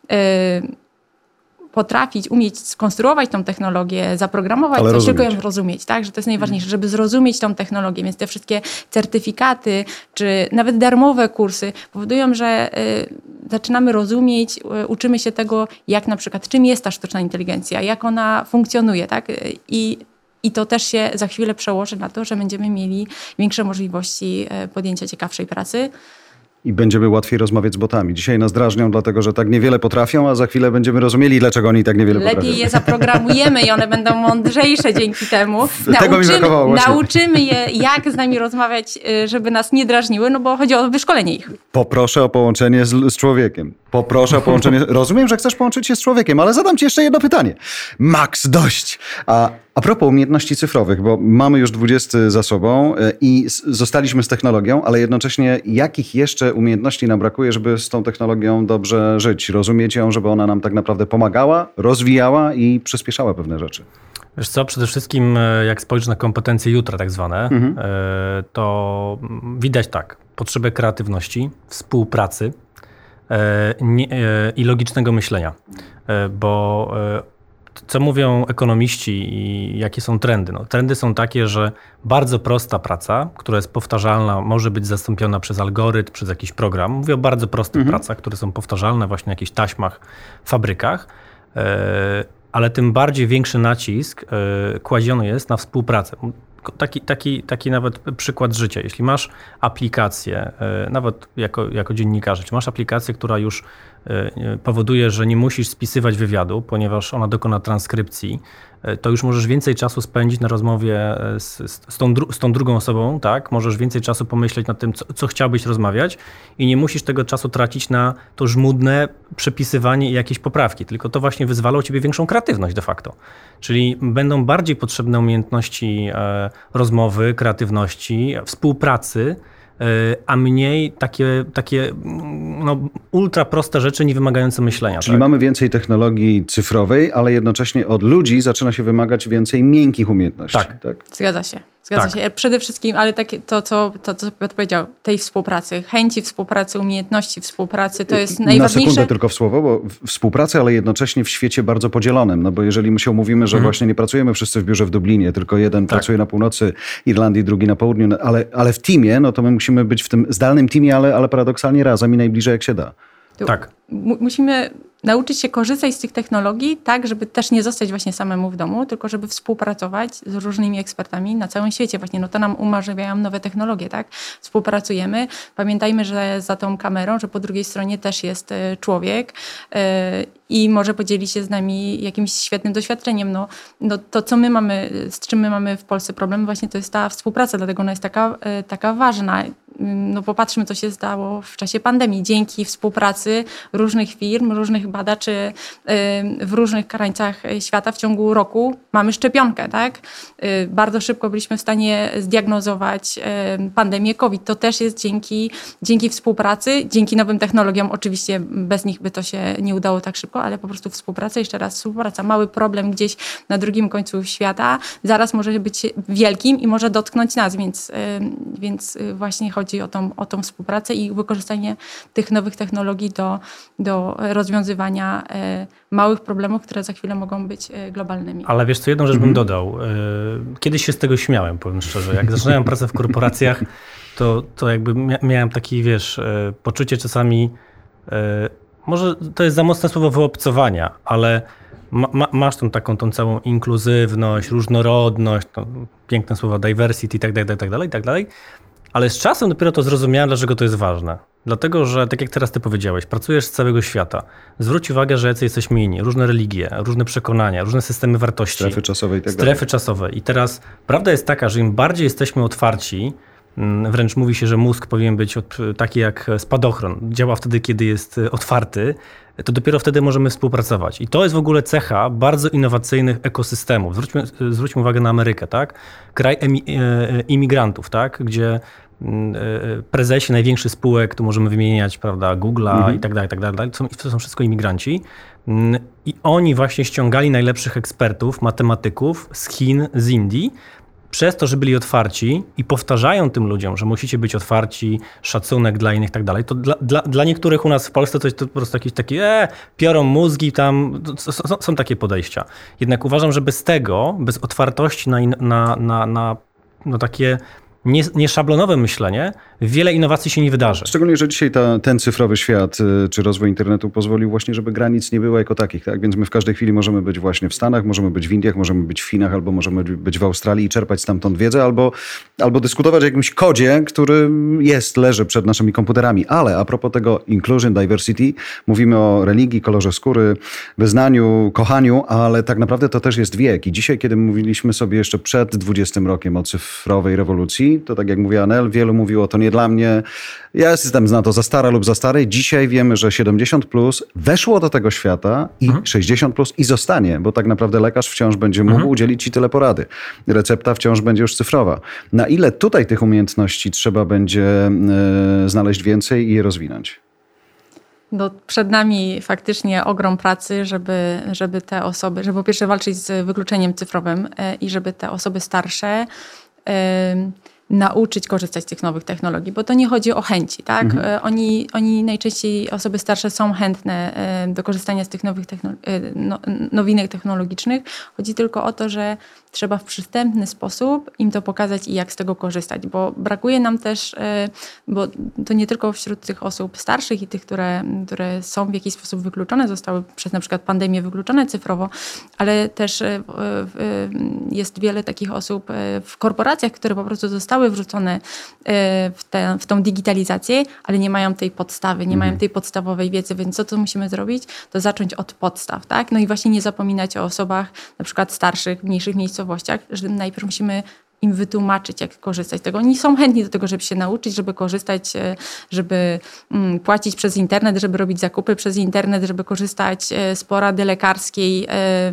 potrafić, umieć skonstruować tą technologię, zaprogramować coś, tylko ją rozumieć, tak? Że to jest najważniejsze, żeby zrozumieć tą technologię. Więc te wszystkie certyfikaty, czy nawet darmowe kursy powodują, że zaczynamy rozumieć, uczymy się tego, jak na przykład, czym jest ta sztuczna inteligencja, jak ona funkcjonuje, tak? I to też się za chwilę przełoży na to, że będziemy mieli większe możliwości podjęcia ciekawszej pracy. I będziemy łatwiej rozmawiać z botami. Dzisiaj nas drażnią, dlatego że tak niewiele potrafią, a za chwilę będziemy rozumieli, dlaczego oni tak niewiele potrafią. Lepiej je zaprogramujemy i one będą mądrzejsze dzięki temu. Tego mi brakowało właśnie. Nauczymy je, jak z nami rozmawiać, żeby nas nie drażniły, no bo chodzi o wyszkolenie ich. Poproszę o połączenie z człowiekiem. Poproszę o połączenie. Rozumiem, że chcesz połączyć się z człowiekiem, ale zadam ci jeszcze jedno pytanie. Max, dość! A propos umiejętności cyfrowych, bo mamy już 20 za sobą i zostaliśmy z technologią, ale jednocześnie jakich jeszcze umiejętności nam brakuje, żeby z tą technologią dobrze żyć, rozumieć ją, żeby ona nam tak naprawdę pomagała, rozwijała i przyspieszała pewne rzeczy? Wiesz co, przede wszystkim jak spojrzysz na kompetencje jutra tak zwane, to widać tak, potrzebę kreatywności, współpracy i logicznego myślenia, bo co mówią ekonomiści i jakie są trendy? No, trendy są takie, że bardzo prosta praca, która jest powtarzalna, może być zastąpiona przez algorytm, przez jakiś program. Mówię o bardzo prostych pracach, które są powtarzalne właśnie na jakichś taśmach, fabrykach, ale tym bardziej większy nacisk kładziony jest na współpracę. Taki nawet przykład życia. Jeśli masz aplikację, nawet jako dziennikarz, jeśli masz aplikację, która już powoduje, że nie musisz spisywać wywiadu, ponieważ ona dokona transkrypcji, to już możesz więcej czasu spędzić na rozmowie z tą drugą osobą, tak? Możesz więcej czasu pomyśleć nad tym, co chciałbyś rozmawiać i nie musisz tego czasu tracić na to żmudne przepisywanie i jakieś poprawki, tylko to właśnie wyzwala u ciebie większą kreatywność de facto. Czyli będą bardziej potrzebne umiejętności rozmowy, kreatywności, współpracy, a mniej takie ultra proste rzeczy, nie wymagające myślenia. Czyli mamy więcej technologii cyfrowej, ale jednocześnie od ludzi zaczyna się wymagać więcej miękkich umiejętności. Tak. Zgadza się. Zgadza się. Przede wszystkim, ale takie to, co Piotr powiedział, tej współpracy, chęci współpracy, umiejętności współpracy, to jest najważniejsze. Na sekundę tylko w słowo, bo współpracy, ale jednocześnie w świecie bardzo podzielonym, no bo jeżeli my się umówimy, że właśnie nie pracujemy wszyscy w biurze w Dublinie, tylko jeden pracuje na północy Irlandii, drugi na południu, ale w teamie, no to my musimy być w tym zdalnym teamie, ale paradoksalnie razem i najbliżej jak się da. Tak. Musimy nauczyć się korzystać z tych technologii tak, żeby też nie zostać właśnie samemu w domu, tylko żeby współpracować z różnymi ekspertami na całym świecie. Właśnie no to nam umożliwiają nowe technologie, tak? Współpracujemy. Pamiętajmy, że za tą kamerą, że po drugiej stronie też jest człowiek i może podzielić się z nami jakimś świetnym doświadczeniem. No to, co my mamy, z czym my mamy w Polsce problem, właśnie to jest ta współpraca, dlatego ona jest taka ważna. No popatrzmy, co się stało w czasie pandemii. Dzięki współpracy różnych firm, różnych badaczy w różnych krańcach świata w ciągu roku mamy szczepionkę, tak? Bardzo szybko byliśmy w stanie zdiagnozować pandemię COVID. To też jest dzięki współpracy, dzięki nowym technologiom. Oczywiście bez nich by to się nie udało tak szybko, ale po prostu współpraca, jeszcze raz współpraca. Mały problem gdzieś na drugim końcu świata zaraz może być wielkim i może dotknąć nas, więc właśnie chodzi o tą współpracę i wykorzystanie tych nowych technologii do rozwiązywania małych problemów, które za chwilę mogą być globalnymi. Ale wiesz co, jedną rzecz bym dodał. Kiedyś się z tego śmiałem, powiem szczerze. Jak zaczynałem pracę w korporacjach, to jakby miałem takie, poczucie czasami, może to jest za mocne słowo wyobcowania, ale masz tą całą inkluzywność, różnorodność, piękne słowa diversity i tak dalej. Ale z czasem dopiero to zrozumiałem, dlaczego to jest ważne. Dlatego, że tak jak teraz ty powiedziałeś, pracujesz z całego świata. Zwróć uwagę, że jacy jesteśmy inni. Różne religie, różne przekonania, różne systemy wartości. Strefy czasowe i tak dalej. Strefy czasowe. I teraz prawda jest taka, że im bardziej jesteśmy otwarci, wręcz mówi się, że mózg powinien być taki jak spadochron. Działa wtedy, kiedy jest otwarty, to dopiero wtedy możemy współpracować. I to jest w ogóle cecha bardzo innowacyjnych ekosystemów. Zwróćmy uwagę na Amerykę, tak? Kraj imigrantów, tak? Gdzie prezesi największych spółek, tu możemy wymieniać, prawda, Google'a i tak dalej, to są wszystko imigranci. I oni właśnie ściągali najlepszych ekspertów, matematyków z Chin, z Indii, przez to, że byli otwarci i powtarzają tym ludziom, że musicie być otwarci, szacunek dla innych i tak dalej, to dla niektórych u nas w Polsce to jest po prostu jakieś takie piorą mózgi, tam są takie podejścia. Jednak uważam, że bez tego, bez otwartości na takie nieszablonowe myślenie, wiele innowacji się nie wydarzy. Szczególnie, że dzisiaj ten cyfrowy świat, czy rozwój internetu pozwolił właśnie, żeby granic nie było jako takich, tak? Więc my w każdej chwili możemy być właśnie w Stanach, możemy być w Indiach, możemy być w Chinach, albo możemy być w Australii i czerpać stamtąd wiedzę, albo dyskutować o jakimś kodzie, który leży przed naszymi komputerami. Ale a propos tego inclusion, diversity, mówimy o religii, kolorze skóry, wyznaniu, kochaniu, ale tak naprawdę to też jest wiek. I dzisiaj, kiedy mówiliśmy sobie jeszcze przed 20 rokiem o cyfrowej rewolucji, to tak jak mówi Anel, wielu mówiło, to nie dla mnie, ja jestem na to za stara lub za stary. Dzisiaj wiemy, że 70+ weszło do tego świata i 60+ i zostanie, bo tak naprawdę lekarz wciąż będzie mógł udzielić ci tyle porady. Recepta wciąż będzie już cyfrowa. Na ile tutaj tych umiejętności trzeba będzie znaleźć więcej i je rozwinąć? No, przed nami faktycznie ogrom pracy, żeby te osoby, żeby po pierwsze walczyć z wykluczeniem cyfrowym i żeby te osoby starsze nauczyć korzystać z tych nowych technologii, bo to nie chodzi o chęci, tak? Oni najczęściej, osoby starsze są chętne do korzystania z tych nowych nowinek technologicznych. Chodzi tylko o to, że trzeba w przystępny sposób im to pokazać i jak z tego korzystać, bo brakuje nam też, bo to nie tylko wśród tych osób starszych i tych, które są w jakiś sposób wykluczone, zostały przez na przykład pandemię wykluczone cyfrowo, ale też jest wiele takich osób w korporacjach, które po prostu zostały wrzucone w tą digitalizację, ale nie mają tej podstawy, nie mają tej podstawowej wiedzy, więc co musimy zrobić? To zacząć od podstaw, tak? No i właśnie nie zapominać o osobach na przykład starszych, w mniejszych miejscowościach, że najpierw musimy im wytłumaczyć, jak korzystać z tego. Oni są chętni do tego, żeby się nauczyć, żeby korzystać, żeby płacić przez internet, żeby robić zakupy przez internet, żeby korzystać z porady lekarskiej,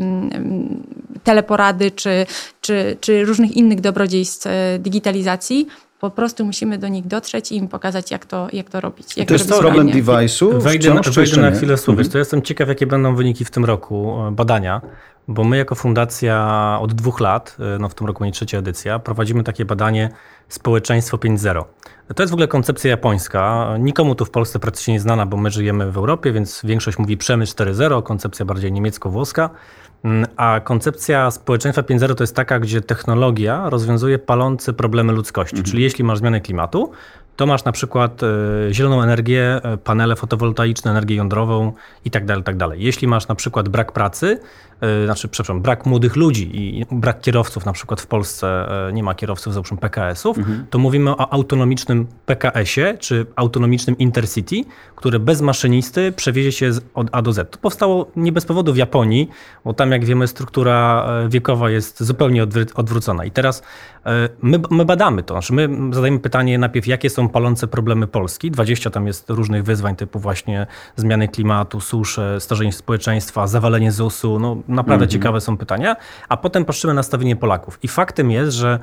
teleporady czy różnych innych dobrodziejstw digitalizacji. Po prostu musimy do nich dotrzeć i im pokazać, jak to robić. To jest problem device'u? Wejdę na chwilę słów. To jestem ciekaw, jakie będą wyniki w tym roku badania, Bo my jako fundacja od 2 lat, no w tym roku będzie 3. edycja, prowadzimy takie badanie Społeczeństwo 5.0. To jest w ogóle koncepcja japońska. Nikomu tu w Polsce praktycznie nie znana, bo my żyjemy w Europie, więc większość mówi przemysł 4.0, koncepcja bardziej niemiecko-włoska. A koncepcja społeczeństwa 5.0 to jest taka, gdzie technologia rozwiązuje palące problemy ludzkości. Czyli jeśli masz zmianę klimatu, to masz na przykład zieloną energię, panele fotowoltaiczne, energię jądrową i tak dalej, tak dalej. Jeśli masz na przykład brak pracy, brak młodych ludzi i brak kierowców, na przykład w Polsce nie ma kierowców, załóżmy PKS-ów, to mówimy o autonomicznym PKS-ie, czy autonomicznym Intercity, które bez maszynisty przewiezie się od A do Z. To powstało nie bez powodu w Japonii, bo tam, jak wiemy, struktura wiekowa jest zupełnie odwrócona. I teraz my badamy to. Znaczy my zadajemy pytanie najpierw, jakie są palące problemy Polski. 20 tam jest różnych wyzwań typu właśnie zmiany klimatu, susze, starzenie społeczeństwa, zawalenie ZUS-u. No naprawdę ciekawe są pytania. A potem patrzymy na nastawienie Polaków. I faktem jest, że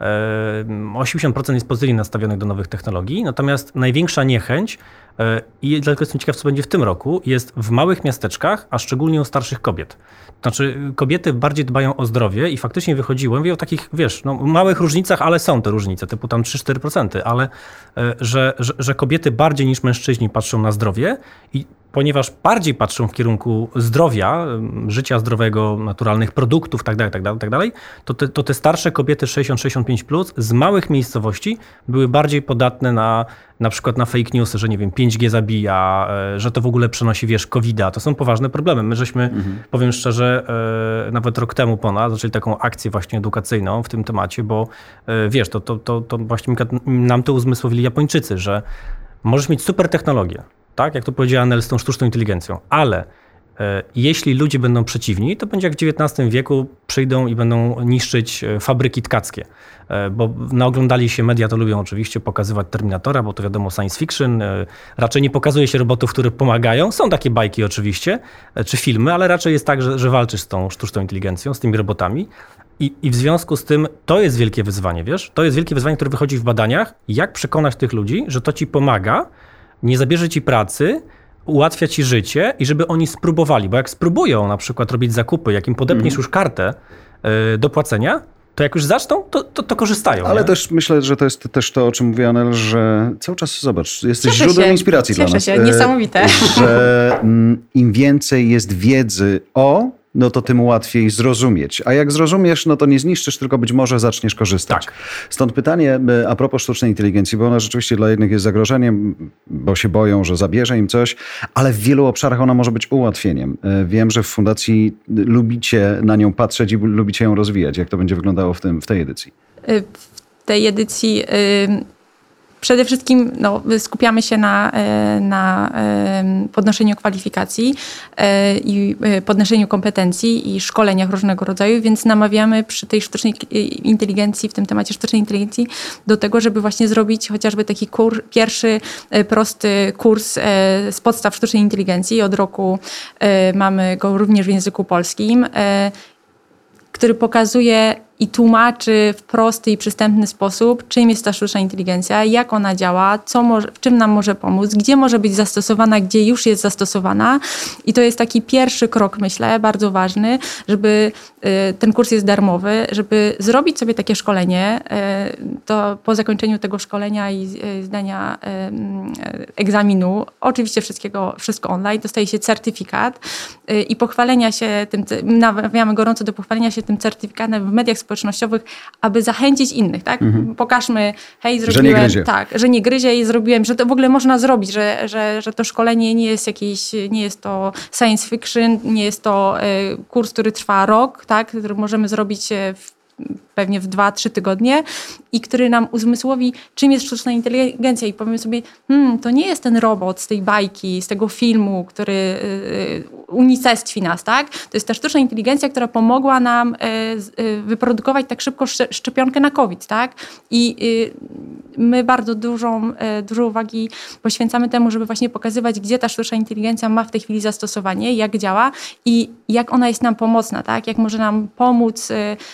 80% jest pozytywnie nastawionych do nowych technologii, natomiast największa niechęć, i dlatego jestem ciekaw, co będzie w tym roku, jest w małych miasteczkach, a szczególnie u starszych kobiet. Znaczy kobiety bardziej dbają o zdrowie i faktycznie wychodziło, mówię o takich, małych różnicach, ale są te różnice, typu tam 3-4%, ale że kobiety bardziej niż mężczyźni patrzą na zdrowie i ponieważ bardziej patrzą w kierunku zdrowia, życia zdrowego, naturalnych produktów, tak dalej, to te starsze kobiety 60-65+ z małych miejscowości były bardziej podatne na przykład na fake newsy, że 5G zabija, że to w ogóle przenosi, COVID-a. To są poważne problemy. My żeśmy, powiem szczerze, nawet rok temu zaczęli taką akcję właśnie edukacyjną w tym temacie, bo to właśnie nam to uzmysłowili Japończycy, że możesz mieć super technologię, tak, jak to powiedziała Nel z tą sztuczną inteligencją, ale jeśli ludzie będą przeciwni, to będzie jak w XIX wieku przyjdą i będą niszczyć fabryki tkackie. Bo naoglądali się, media to lubią oczywiście pokazywać Terminatora, bo to wiadomo science fiction. Raczej nie pokazuje się robotów, które pomagają. Są takie bajki oczywiście, czy filmy, ale raczej jest tak, że walczysz z tą sztuczną inteligencją, z tymi robotami. I w związku z tym to jest wielkie wyzwanie, To jest wielkie wyzwanie, które wychodzi w badaniach. Jak przekonać tych ludzi, że to ci pomaga, nie zabierze ci pracy, ułatwia ci życie i żeby oni spróbowali, bo jak spróbują na przykład robić zakupy, jak im podepniesz już kartę do płacenia, to jak już zaczną, to korzystają. Ale też myślę, że to jest też to, o czym mówiła Anel, że cały czas, zobacz, jesteś źródłem inspiracji dla nas. Cieszę się, niesamowite. Że im więcej jest wiedzy no to tym łatwiej zrozumieć. A jak zrozumiesz, no to nie zniszczysz, tylko być może zaczniesz korzystać. Tak. Stąd pytanie a propos sztucznej inteligencji, bo ona rzeczywiście dla jednych jest zagrożeniem, bo się boją, że zabierze im coś, ale w wielu obszarach ona może być ułatwieniem. Wiem, że w fundacji lubicie na nią patrzeć i lubicie ją rozwijać. Jak to będzie wyglądało w tej edycji? W tej edycji przede wszystkim skupiamy się na podnoszeniu kwalifikacji i podnoszeniu kompetencji i szkoleniach różnego rodzaju, więc namawiamy przy tej sztucznej inteligencji, w tym temacie sztucznej inteligencji, do tego, żeby właśnie zrobić chociażby taki pierwszy prosty kurs z podstaw sztucznej inteligencji. Od roku mamy go również w języku polskim, który pokazuje i tłumaczy w prosty i przystępny sposób, czym jest ta sztuczna inteligencja, jak ona działa, w czym nam może pomóc, gdzie może być zastosowana, gdzie już jest zastosowana. I to jest taki pierwszy krok, myślę, bardzo ważny, żeby ten kurs jest darmowy, żeby zrobić sobie takie szkolenie, to po zakończeniu tego szkolenia i zdania egzaminu, oczywiście wszystko online, dostaje się certyfikat i pochwalenia się tym, namawiamy gorąco do pochwalenia się tym certyfikatem w mediach społecznościowych, aby zachęcić innych, tak? Pokażmy, hej, zrobiłem, że nie gryzie. Tak, że nie gryzie i zrobiłem, że to w ogóle można zrobić, że to szkolenie nie jest to science fiction, nie jest to kurs, który trwa rok, tak? Który możemy zrobić pewnie w 2-3 tygodnie i który nam uzmysłowi, czym jest sztuczna inteligencja i powiemy sobie, to nie jest ten robot z tej bajki, z tego filmu, który unicestwi nas, tak? To jest ta sztuczna inteligencja, która pomogła nam wyprodukować tak szybko szczepionkę na COVID, tak? I my bardzo dużo uwagi poświęcamy temu, żeby właśnie pokazywać, gdzie ta sztuczna inteligencja ma w tej chwili zastosowanie, jak działa i jak ona jest nam pomocna, tak? Jak może nam pomóc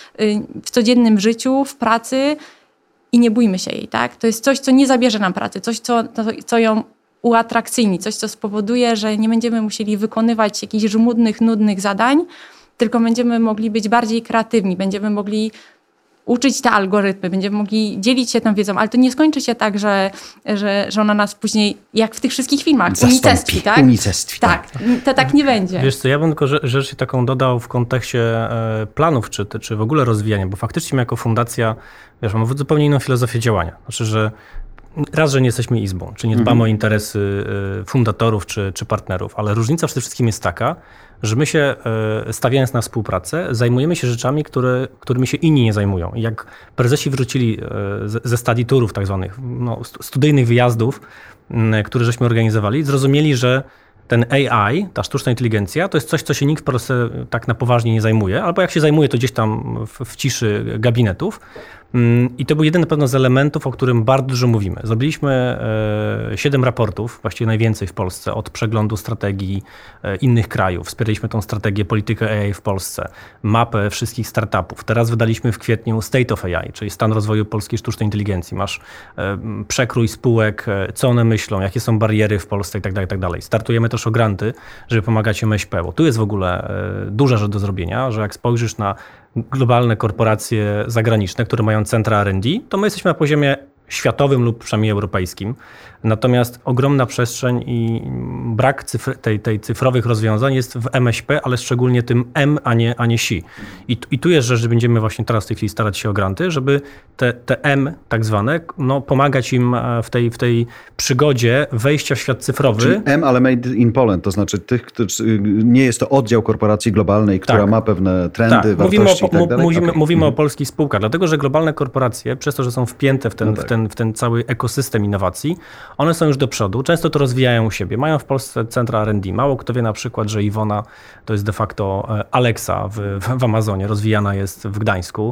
w codziennym życiu, w pracy i nie bójmy się jej, tak? To jest coś, co nie zabierze nam pracy, coś, co ją uatrakcyjni, coś, co spowoduje, że nie będziemy musieli wykonywać jakichś żmudnych, nudnych zadań, tylko będziemy mogli być bardziej kreatywni, będziemy mogli uczyć te algorytmy, będziemy mogli dzielić się tą wiedzą, ale to nie skończy się tak, że ona nas później, jak w tych wszystkich filmach, unicestwi, tak? Unicestwi, tak. To tak nie będzie. Wiesz co, ja bym tylko rzecz taką dodał w kontekście planów, czy w ogóle rozwijania, bo faktycznie my jako fundacja, wiesz, mamy zupełnie inną filozofię działania. Znaczy, że raz, że nie jesteśmy izbą, czy nie dbamy o interesy fundatorów czy partnerów, ale różnica przede wszystkim jest taka, że my się, stawiając na współpracę, zajmujemy się rzeczami, którymi się inni nie zajmują. I jak prezesi wrócili ze study tourów tak zwanych, studyjnych wyjazdów, które żeśmy organizowali, zrozumieli, że ten AI, ta sztuczna inteligencja, to jest coś, co się nikt w Polsce tak na poważnie nie zajmuje, albo jak się zajmuje, to gdzieś tam w ciszy gabinetów. I to był jeden na pewno z elementów, o którym bardzo dużo mówimy. Zrobiliśmy 7 raportów, właściwie najwięcej w Polsce, od przeglądu strategii innych krajów. Wspieraliśmy tą strategię, politykę AI w Polsce, mapę wszystkich startupów. Teraz wydaliśmy w kwietniu State of AI, czyli stan rozwoju polskiej sztucznej inteligencji. Masz przekrój spółek, co one myślą, jakie są bariery w Polsce itd., itd. Startujemy też o granty, żeby pomagać MŚP, bo tu jest w ogóle duża rzecz do zrobienia, że jak spojrzysz na globalne korporacje zagraniczne, które mają centra R&D, to my jesteśmy na poziomie światowym lub przynajmniej europejskim. Natomiast ogromna przestrzeń i brak tej cyfrowych rozwiązań jest w MŚP, ale szczególnie tym M, a nie si. I tu jest rzecz, że będziemy właśnie teraz w tej chwili starać się o granty, żeby te M tak zwane, pomagać im w tej przygodzie wejścia w świat cyfrowy. Czyli M, ale made in Poland, to znaczy tych, którzy, nie jest to oddział korporacji globalnej, która ma pewne trendy, wartości i tak dalej? Mówimy o polskich spółkach, dlatego że globalne korporacje, przez to, że są wpięte w ten cały ekosystem innowacji, one są już do przodu, często to rozwijają u siebie. Mają w Polsce centra R&D. Mało kto wie na przykład, że Iwona to jest de facto Alexa w Amazonie, rozwijana jest w Gdańsku,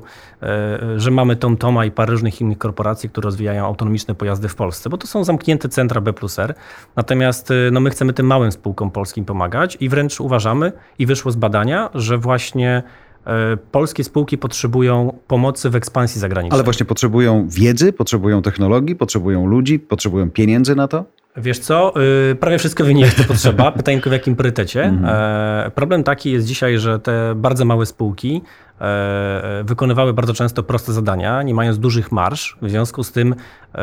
że mamy TomToma i parę różnych innych korporacji, które rozwijają autonomiczne pojazdy w Polsce, bo to są zamknięte centra B+R. Natomiast my chcemy tym małym spółkom polskim pomagać i wręcz uważamy, i wyszło z badania, że właśnie polskie spółki potrzebują pomocy w ekspansji zagranicznej. Ale właśnie potrzebują wiedzy, potrzebują technologii, potrzebują ludzi, potrzebują pieniędzy na to? Wiesz co, prawie wszystko wynika, to potrzeba. Pytanie tylko w jakim priorytecie. Problem taki jest dzisiaj, że te bardzo małe spółki wykonywały bardzo często proste zadania, nie mając dużych marż, w związku z tym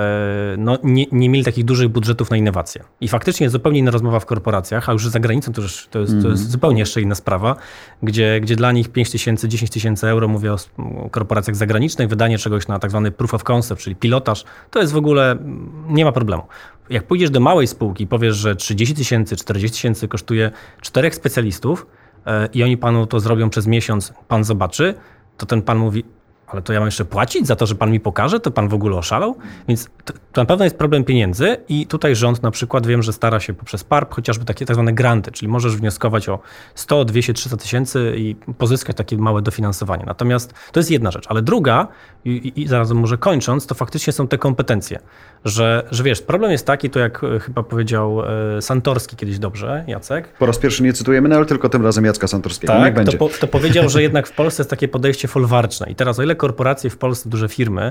nie mieli takich dużych budżetów na innowacje. I faktycznie jest zupełnie inna rozmowa w korporacjach, a już za granicą to jest zupełnie jeszcze inna sprawa, gdzie dla nich 5 tysięcy, 10 tysięcy euro, mówię o korporacjach zagranicznych, wydanie czegoś na tak zwany proof of concept, czyli pilotaż, to jest w ogóle, nie ma problemu. Jak pójdziesz do małej spółki i powiesz, że 30 tysięcy, 40 tysięcy kosztuje 4 specjalistów i oni panu to zrobią przez miesiąc, pan zobaczy, to ten pan mówi, ale to ja mam jeszcze płacić za to, że pan mi pokaże, to pan w ogóle oszalał? Więc to na pewno jest problem pieniędzy i tutaj rząd na przykład wiem, że stara się poprzez PARP chociażby takie tak zwane granty, czyli możesz wnioskować o 100, 200, 300 tysięcy i pozyskać takie małe dofinansowanie. Natomiast to jest jedna rzecz, ale druga i zaraz może kończąc, to faktycznie są te kompetencje, że wiesz, problem jest taki, to jak chyba powiedział Santorski kiedyś dobrze, Jacek. Po raz pierwszy nie cytujemy, ale tylko tym razem Jacka Santorskiego. Tak, to powiedział, że jednak w Polsce jest takie podejście folwarczne i teraz o ile korporacje w Polsce, duże firmy,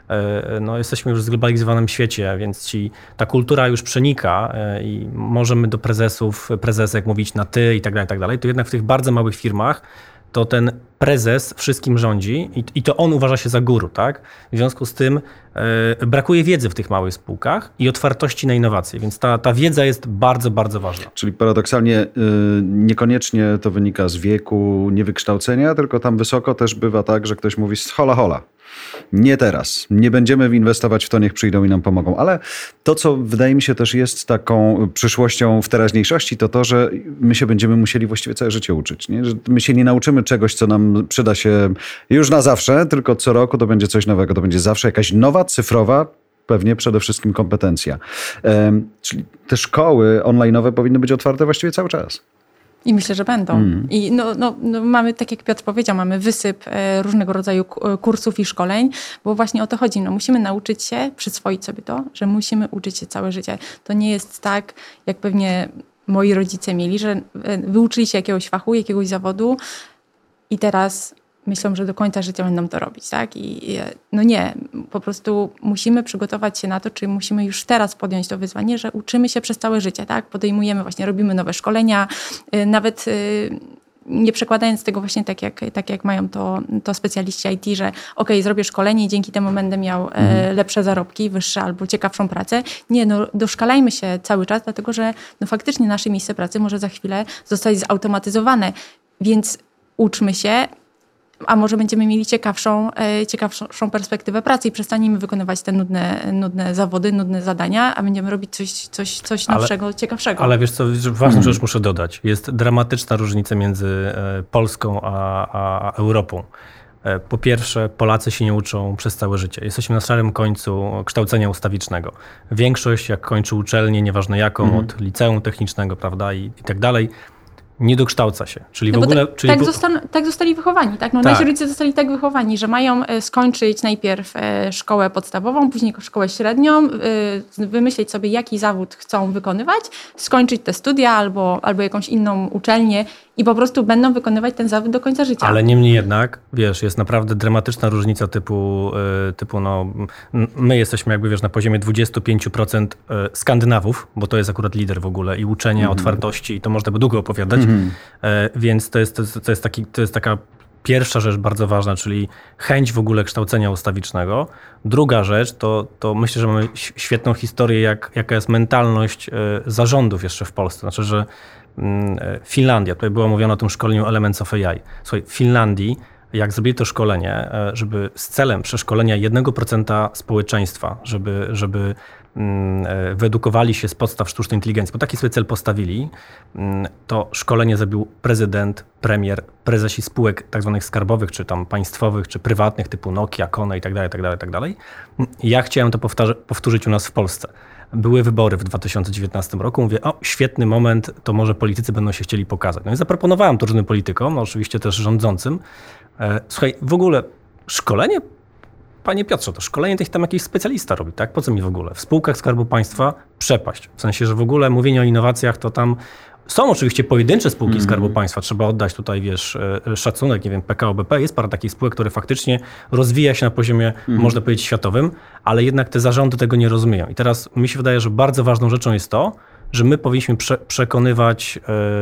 jesteśmy już w zglobalizowanym świecie, więc ta kultura już przenika i możemy do prezesek mówić na ty i tak dalej, to jednak w tych bardzo małych firmach to ten prezes wszystkim rządzi i to on uważa się za guru, tak? W związku z tym brakuje wiedzy w tych małych spółkach i otwartości na innowacje, więc ta wiedza jest bardzo, bardzo ważna. Czyli paradoksalnie niekoniecznie to wynika z wieku, niewykształcenia, tylko tam wysoko też bywa tak, że ktoś mówi hola hola. Nie teraz. Nie będziemy inwestować w to, niech przyjdą i nam pomogą. Ale to, co wydaje mi się też jest taką przyszłością w teraźniejszości, to, że my się będziemy musieli właściwie całe życie uczyć. Nie? Że my się nie nauczymy czegoś, co nam przyda się już na zawsze, tylko co roku to będzie coś nowego. To będzie zawsze jakaś nowa, cyfrowa, pewnie przede wszystkim kompetencja. Czyli te szkoły online'owe powinny być otwarte właściwie cały czas. I myślę, że będą. I mamy, tak jak Piotr powiedział, mamy wysyp różnego rodzaju kursów i szkoleń, bo właśnie o to chodzi. Musimy nauczyć się, przyswoić sobie to, że musimy uczyć się całe życie. To nie jest tak, jak pewnie moi rodzice mieli, że wyuczyli się jakiegoś fachu, jakiegoś zawodu i teraz myślą, że do końca życia będą to robić, tak? Nie, po prostu musimy przygotować się na to, czyli musimy już teraz podjąć to wyzwanie, że uczymy się przez całe życie, tak? Podejmujemy właśnie, robimy nowe szkolenia, nawet nie przekładając tego właśnie tak jak mają to specjaliści IT, że zrobię szkolenie i dzięki temu będę miał lepsze zarobki, wyższe albo ciekawszą pracę. Nie, doszkalajmy się cały czas, dlatego że faktycznie nasze miejsce pracy może za chwilę zostać zautomatyzowane, więc uczmy się, a może będziemy mieli ciekawszą perspektywę pracy i przestaniemy wykonywać te nudne zawody, nudne zadania, a będziemy robić coś nowszego, ciekawszego. Ale wiesz co, ważną rzecz muszę dodać. Jest dramatyczna różnica między Polską a Europą. Po pierwsze, Polacy się nie uczą przez całe życie. Jesteśmy na szarym końcu kształcenia ustawicznego. Większość, jak kończy uczelnię, nieważne jaką, od liceum technicznego, prawda, i tak dalej, nie dokształca się. Czyli w ogóle... Tak zostali wychowani. Tak? Nasi rodzice zostali tak wychowani, że mają skończyć najpierw szkołę podstawową, później szkołę średnią, wymyślić sobie, jaki zawód chcą wykonywać, skończyć te studia albo jakąś inną uczelnię i po prostu będą wykonywać ten zawód do końca życia. Ale niemniej jednak, wiesz, jest naprawdę dramatyczna różnica typu my jesteśmy na poziomie 25% Skandynawów, bo to jest akurat lider w ogóle i uczenia, otwartości i to można by długo opowiadać, więc to jest taka pierwsza rzecz bardzo ważna, czyli chęć w ogóle kształcenia ustawicznego. Druga rzecz to myślę, że mamy świetną historię, jaka jest mentalność zarządów jeszcze w Polsce. Znaczy, że Finlandia, tutaj było mówione o tym szkoleniu Elements of AI. Słuchaj, w Finlandii, jak zrobili to szkolenie, żeby z celem przeszkolenia 1% społeczeństwa, żeby wyedukowali się z podstaw sztucznej inteligencji, bo taki sobie cel postawili, to szkolenie zrobił prezydent, premier, prezesi spółek tak zwanych skarbowych, czy tam państwowych, czy prywatnych, typu Nokia, Kone i tak dalej. Ja chciałem to powtórzyć u nas w Polsce. Były wybory w 2019 roku. Mówię, świetny moment, to może politycy będą się chcieli pokazać. No i zaproponowałem to różnym politykom, oczywiście też rządzącym. Słuchaj, w ogóle szkolenie, panie Piotrze, to szkolenie to tam jakiś specjalista robi, tak? Po co mi w ogóle? W spółkach Skarbu Państwa przepaść. W sensie, że w ogóle mówienie o innowacjach to tam są oczywiście pojedyncze spółki Skarbu Państwa. Trzeba oddać tutaj, szacunek, nie wiem, PKO BP. Jest parę takich spółek, które faktycznie rozwija się na poziomie, można powiedzieć, światowym, ale jednak te zarządy tego nie rozumieją. I teraz mi się wydaje, że bardzo ważną rzeczą jest to, że my powinniśmy przekonywać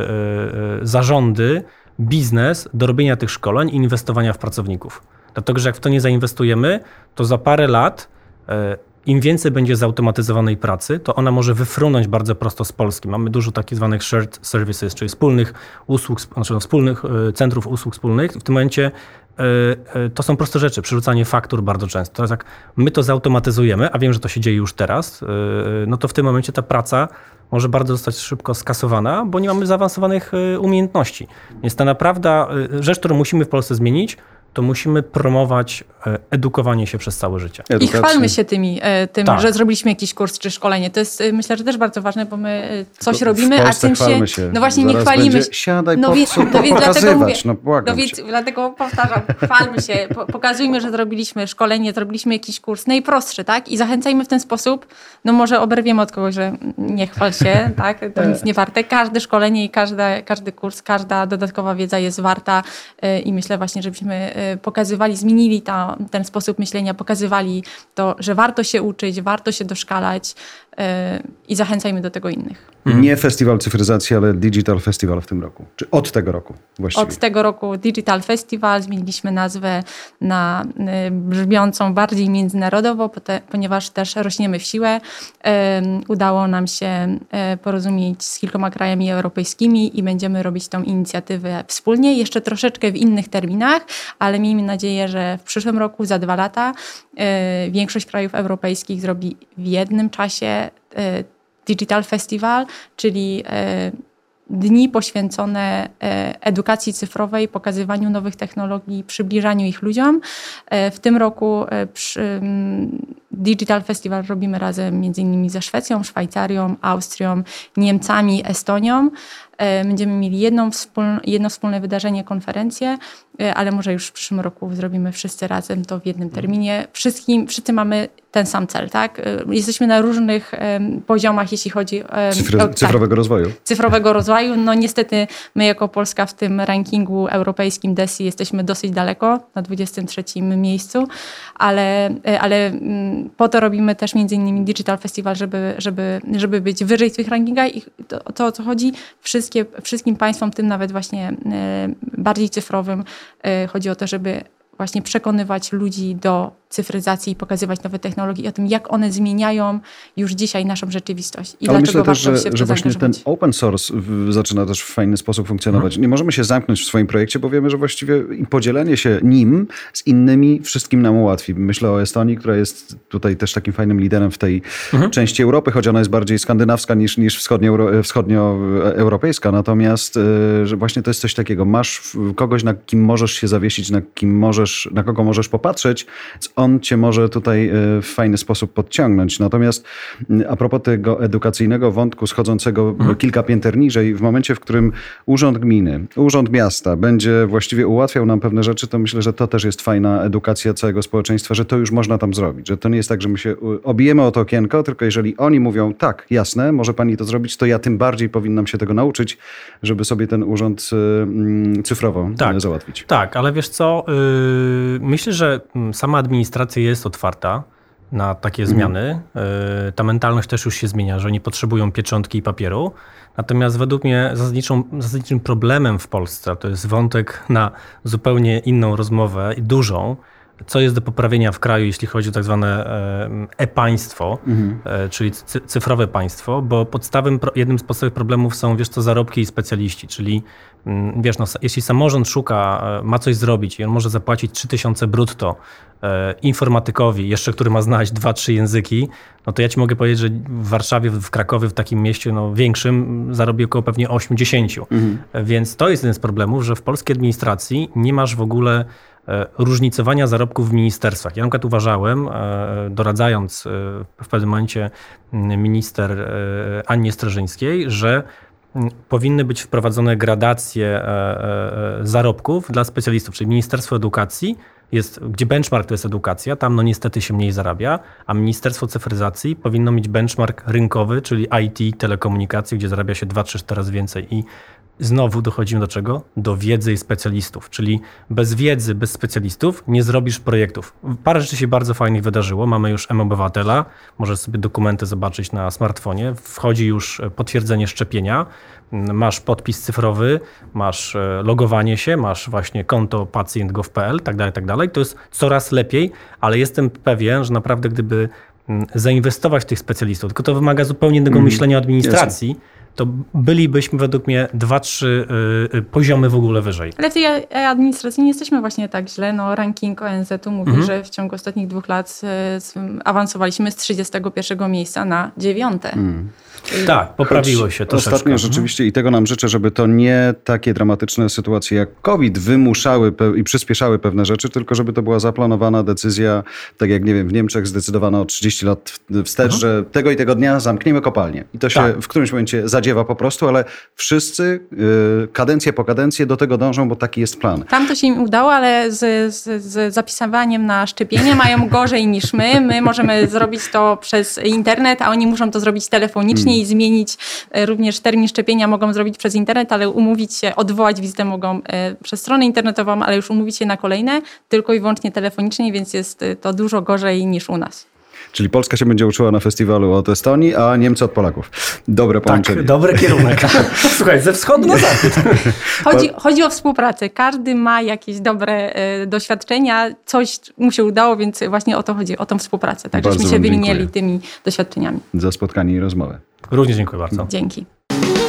zarządy, biznes do robienia tych szkoleń i inwestowania w pracowników. Dlatego, że jak w to nie zainwestujemy, to za parę lat im więcej będzie zautomatyzowanej pracy, to ona może wyfrunąć bardzo prosto z Polski. Mamy dużo takich zwanych shared services, czyli wspólnych usług, wspólnych centrów usług wspólnych. W tym momencie to są proste rzeczy, przerzucanie faktur bardzo często. Teraz jak my to zautomatyzujemy, a wiem, że to się dzieje już teraz, no to w tym momencie ta praca może bardzo zostać szybko skasowana, bo nie mamy zaawansowanych umiejętności. Więc ta naprawdę rzecz, którą musimy w Polsce zmienić, to musimy promować edukowanie się przez całe życie. I chwalmy się tym, tak, że zrobiliśmy jakiś kurs czy szkolenie. To jest, myślę, że też bardzo ważne, bo my coś robimy, a tym się... No właśnie, nie chwalimy się. Siadaj, dlatego powtarzam, chwalmy się, pokazujmy, że zrobiliśmy szkolenie, zrobiliśmy jakiś kurs, najprostszy, tak? I zachęcajmy w ten sposób, no może oberwiemy od kogoś, że nie chwal się, tak? To nic nie warte. Każde szkolenie i każdy kurs, każda dodatkowa wiedza jest warta i myślę właśnie, żebyśmy pokazywali, zmienili ten sposób myślenia, pokazywali to, że warto się uczyć, warto się doszkalać i zachęcajmy do tego innych. Nie Festiwal Cyfryzacji, ale Digital Festival w tym roku. Czy od tego roku właściwie? Od tego roku Digital Festival. Zmieniliśmy nazwę na brzmiącą bardziej międzynarodowo, ponieważ też rośniemy w siłę. Udało nam się porozumieć z kilkoma krajami europejskimi i będziemy robić tą inicjatywę wspólnie. Jeszcze troszeczkę w innych terminach, ale miejmy nadzieję, że w przyszłym roku, za 2 lata, większość krajów europejskich zrobi w jednym czasie Digital Festival, czyli dni poświęcone edukacji cyfrowej, pokazywaniu nowych technologii, przybliżaniu ich ludziom. W tym roku Digital Festival robimy razem m.in. ze Szwecją, Szwajcarią, Austrią, Niemcami, Estonią. Będziemy mieli jedno wspólne wydarzenie, konferencję, ale może już w przyszłym roku zrobimy wszyscy razem to w jednym terminie. Wszyscy mamy ten sam cel, tak? Jesteśmy na różnych poziomach, jeśli chodzi o cyfrowego rozwoju. Cyfrowego rozwoju. No niestety my jako Polska w tym rankingu europejskim DESI jesteśmy dosyć daleko, na 23 miejscu, ale Po to robimy też między innymi Digital Festival, żeby być wyżej w tych rankingach i to o co chodzi, wszystkim państwom, tym nawet właśnie bardziej cyfrowym, chodzi o to, żeby właśnie przekonywać ludzi do cyfryzacji i pokazywać nowe technologie i o tym, jak one zmieniają już dzisiaj naszą rzeczywistość. I ale dlaczego myślę też, warto się że właśnie ten open source zaczyna też w fajny sposób funkcjonować. Nie możemy się zamknąć w swoim projekcie, bo wiemy, że właściwie podzielenie się nim z innymi wszystkim nam ułatwi. Myślę o Estonii, która jest tutaj też takim fajnym liderem w tej części Europy, choć ona jest bardziej skandynawska niż wschodnioeuropejska. Natomiast że właśnie to jest coś takiego. Masz kogoś, na kim możesz się zawiesić, na kogo możesz popatrzeć, on cię może tutaj w fajny sposób podciągnąć. Natomiast a propos tego edukacyjnego wątku schodzącego kilka pięter niżej, w momencie, w którym urząd gminy, urząd miasta będzie właściwie ułatwiał nam pewne rzeczy, to myślę, że to też jest fajna edukacja całego społeczeństwa, że to już można tam zrobić. Że to nie jest tak, że my się obijemy o to okienko, tylko jeżeli oni mówią, tak, jasne, może pani to zrobić, to ja tym bardziej powinnam się tego nauczyć, żeby sobie ten urząd cyfrowo załatwić. Tak, ale wiesz co, myślę, że sama administracja jest otwarta na takie zmiany. Ta mentalność też już się zmienia, że nie potrzebują pieczątki i papieru. Natomiast według mnie zasadniczym problemem w Polsce, to jest wątek na zupełnie inną rozmowę i dużą, co jest do poprawienia w kraju, jeśli chodzi o tak zwane e-państwo, czyli cyfrowe państwo, bo jednym z podstawowych problemów są, zarobki i specjaliści, czyli jeśli samorząd ma coś zrobić i on może zapłacić 3000 brutto informatykowi, jeszcze który ma znać 2-3 języki, no to ja ci mogę powiedzieć, że w Warszawie, w Krakowie, w takim mieście większym zarobi około pewnie 8-10. Więc to jest jeden z problemów, że w polskiej administracji nie masz w ogóle różnicowania zarobków w ministerstwach. Ja na przykład uważałem, doradzając w pewnym momencie minister Annie Streżyńskiej, że powinny być wprowadzone gradacje zarobków dla specjalistów, czyli Ministerstwo Edukacji, gdzie benchmark to jest edukacja, tam niestety się mniej zarabia, a Ministerstwo Cyfryzacji powinno mieć benchmark rynkowy, czyli IT, telekomunikacji, gdzie zarabia się 2-3 razy więcej. I znowu dochodzimy do czego? Do wiedzy i specjalistów, czyli bez wiedzy, bez specjalistów nie zrobisz projektów. Parę rzeczy się bardzo fajnych wydarzyło. Mamy już mObywatela, możesz sobie dokumenty zobaczyć na smartfonie. Wchodzi już potwierdzenie szczepienia, masz podpis cyfrowy, masz logowanie się, masz właśnie konto pacjent.gov.pl, tak dalej. To jest coraz lepiej, ale jestem pewien, że naprawdę gdyby zainwestować w tych specjalistów, tylko to wymaga zupełnie innego myślenia o administracji, to bylibyśmy według mnie 2-3 poziomy w ogóle wyżej. Ale w tej administracji nie jesteśmy właśnie tak źle. Ranking ONZ-u mówi, że w ciągu ostatnich 2 lat awansowaliśmy z 31 miejsca na 9. Tak, poprawiło się troszeczkę. Ostatnio rzeczywiście i tego nam życzę, żeby to nie takie dramatyczne sytuacje jak COVID wymuszały i przyspieszały pewne rzeczy, tylko żeby to była zaplanowana decyzja, tak jak w Niemczech zdecydowano 30 lat wstecz, że tego i tego dnia zamkniemy kopalnię. I to się w którymś momencie zadziewa po prostu, ale wszyscy kadencję po kadencję do tego dążą, bo taki jest plan. Tam to się im udało, ale z zapisywaniem na szczepienie mają gorzej niż my. My możemy zrobić to przez internet, a oni muszą to zrobić telefonicznie i zmienić również termin szczepienia mogą zrobić przez internet, ale umówić się, odwołać wizytę mogą przez stronę internetową, ale już umówić się na kolejne tylko i wyłącznie telefonicznie, więc jest to dużo gorzej niż u nas. Czyli Polska się będzie uczyła na festiwalu od Estonii, a Niemcy od Polaków. Dobre połączenie. Tak, dobry kierunek. Słuchaj, ze wschodu na zachód. Chodzi o współpracę. Każdy ma jakieś dobre doświadczenia, coś mu się udało, więc właśnie o to chodzi, o tą współpracę. Tak, żeśmy się wymieniali tymi doświadczeniami. Za spotkanie i rozmowę. Również dziękuję bardzo. Dzięki.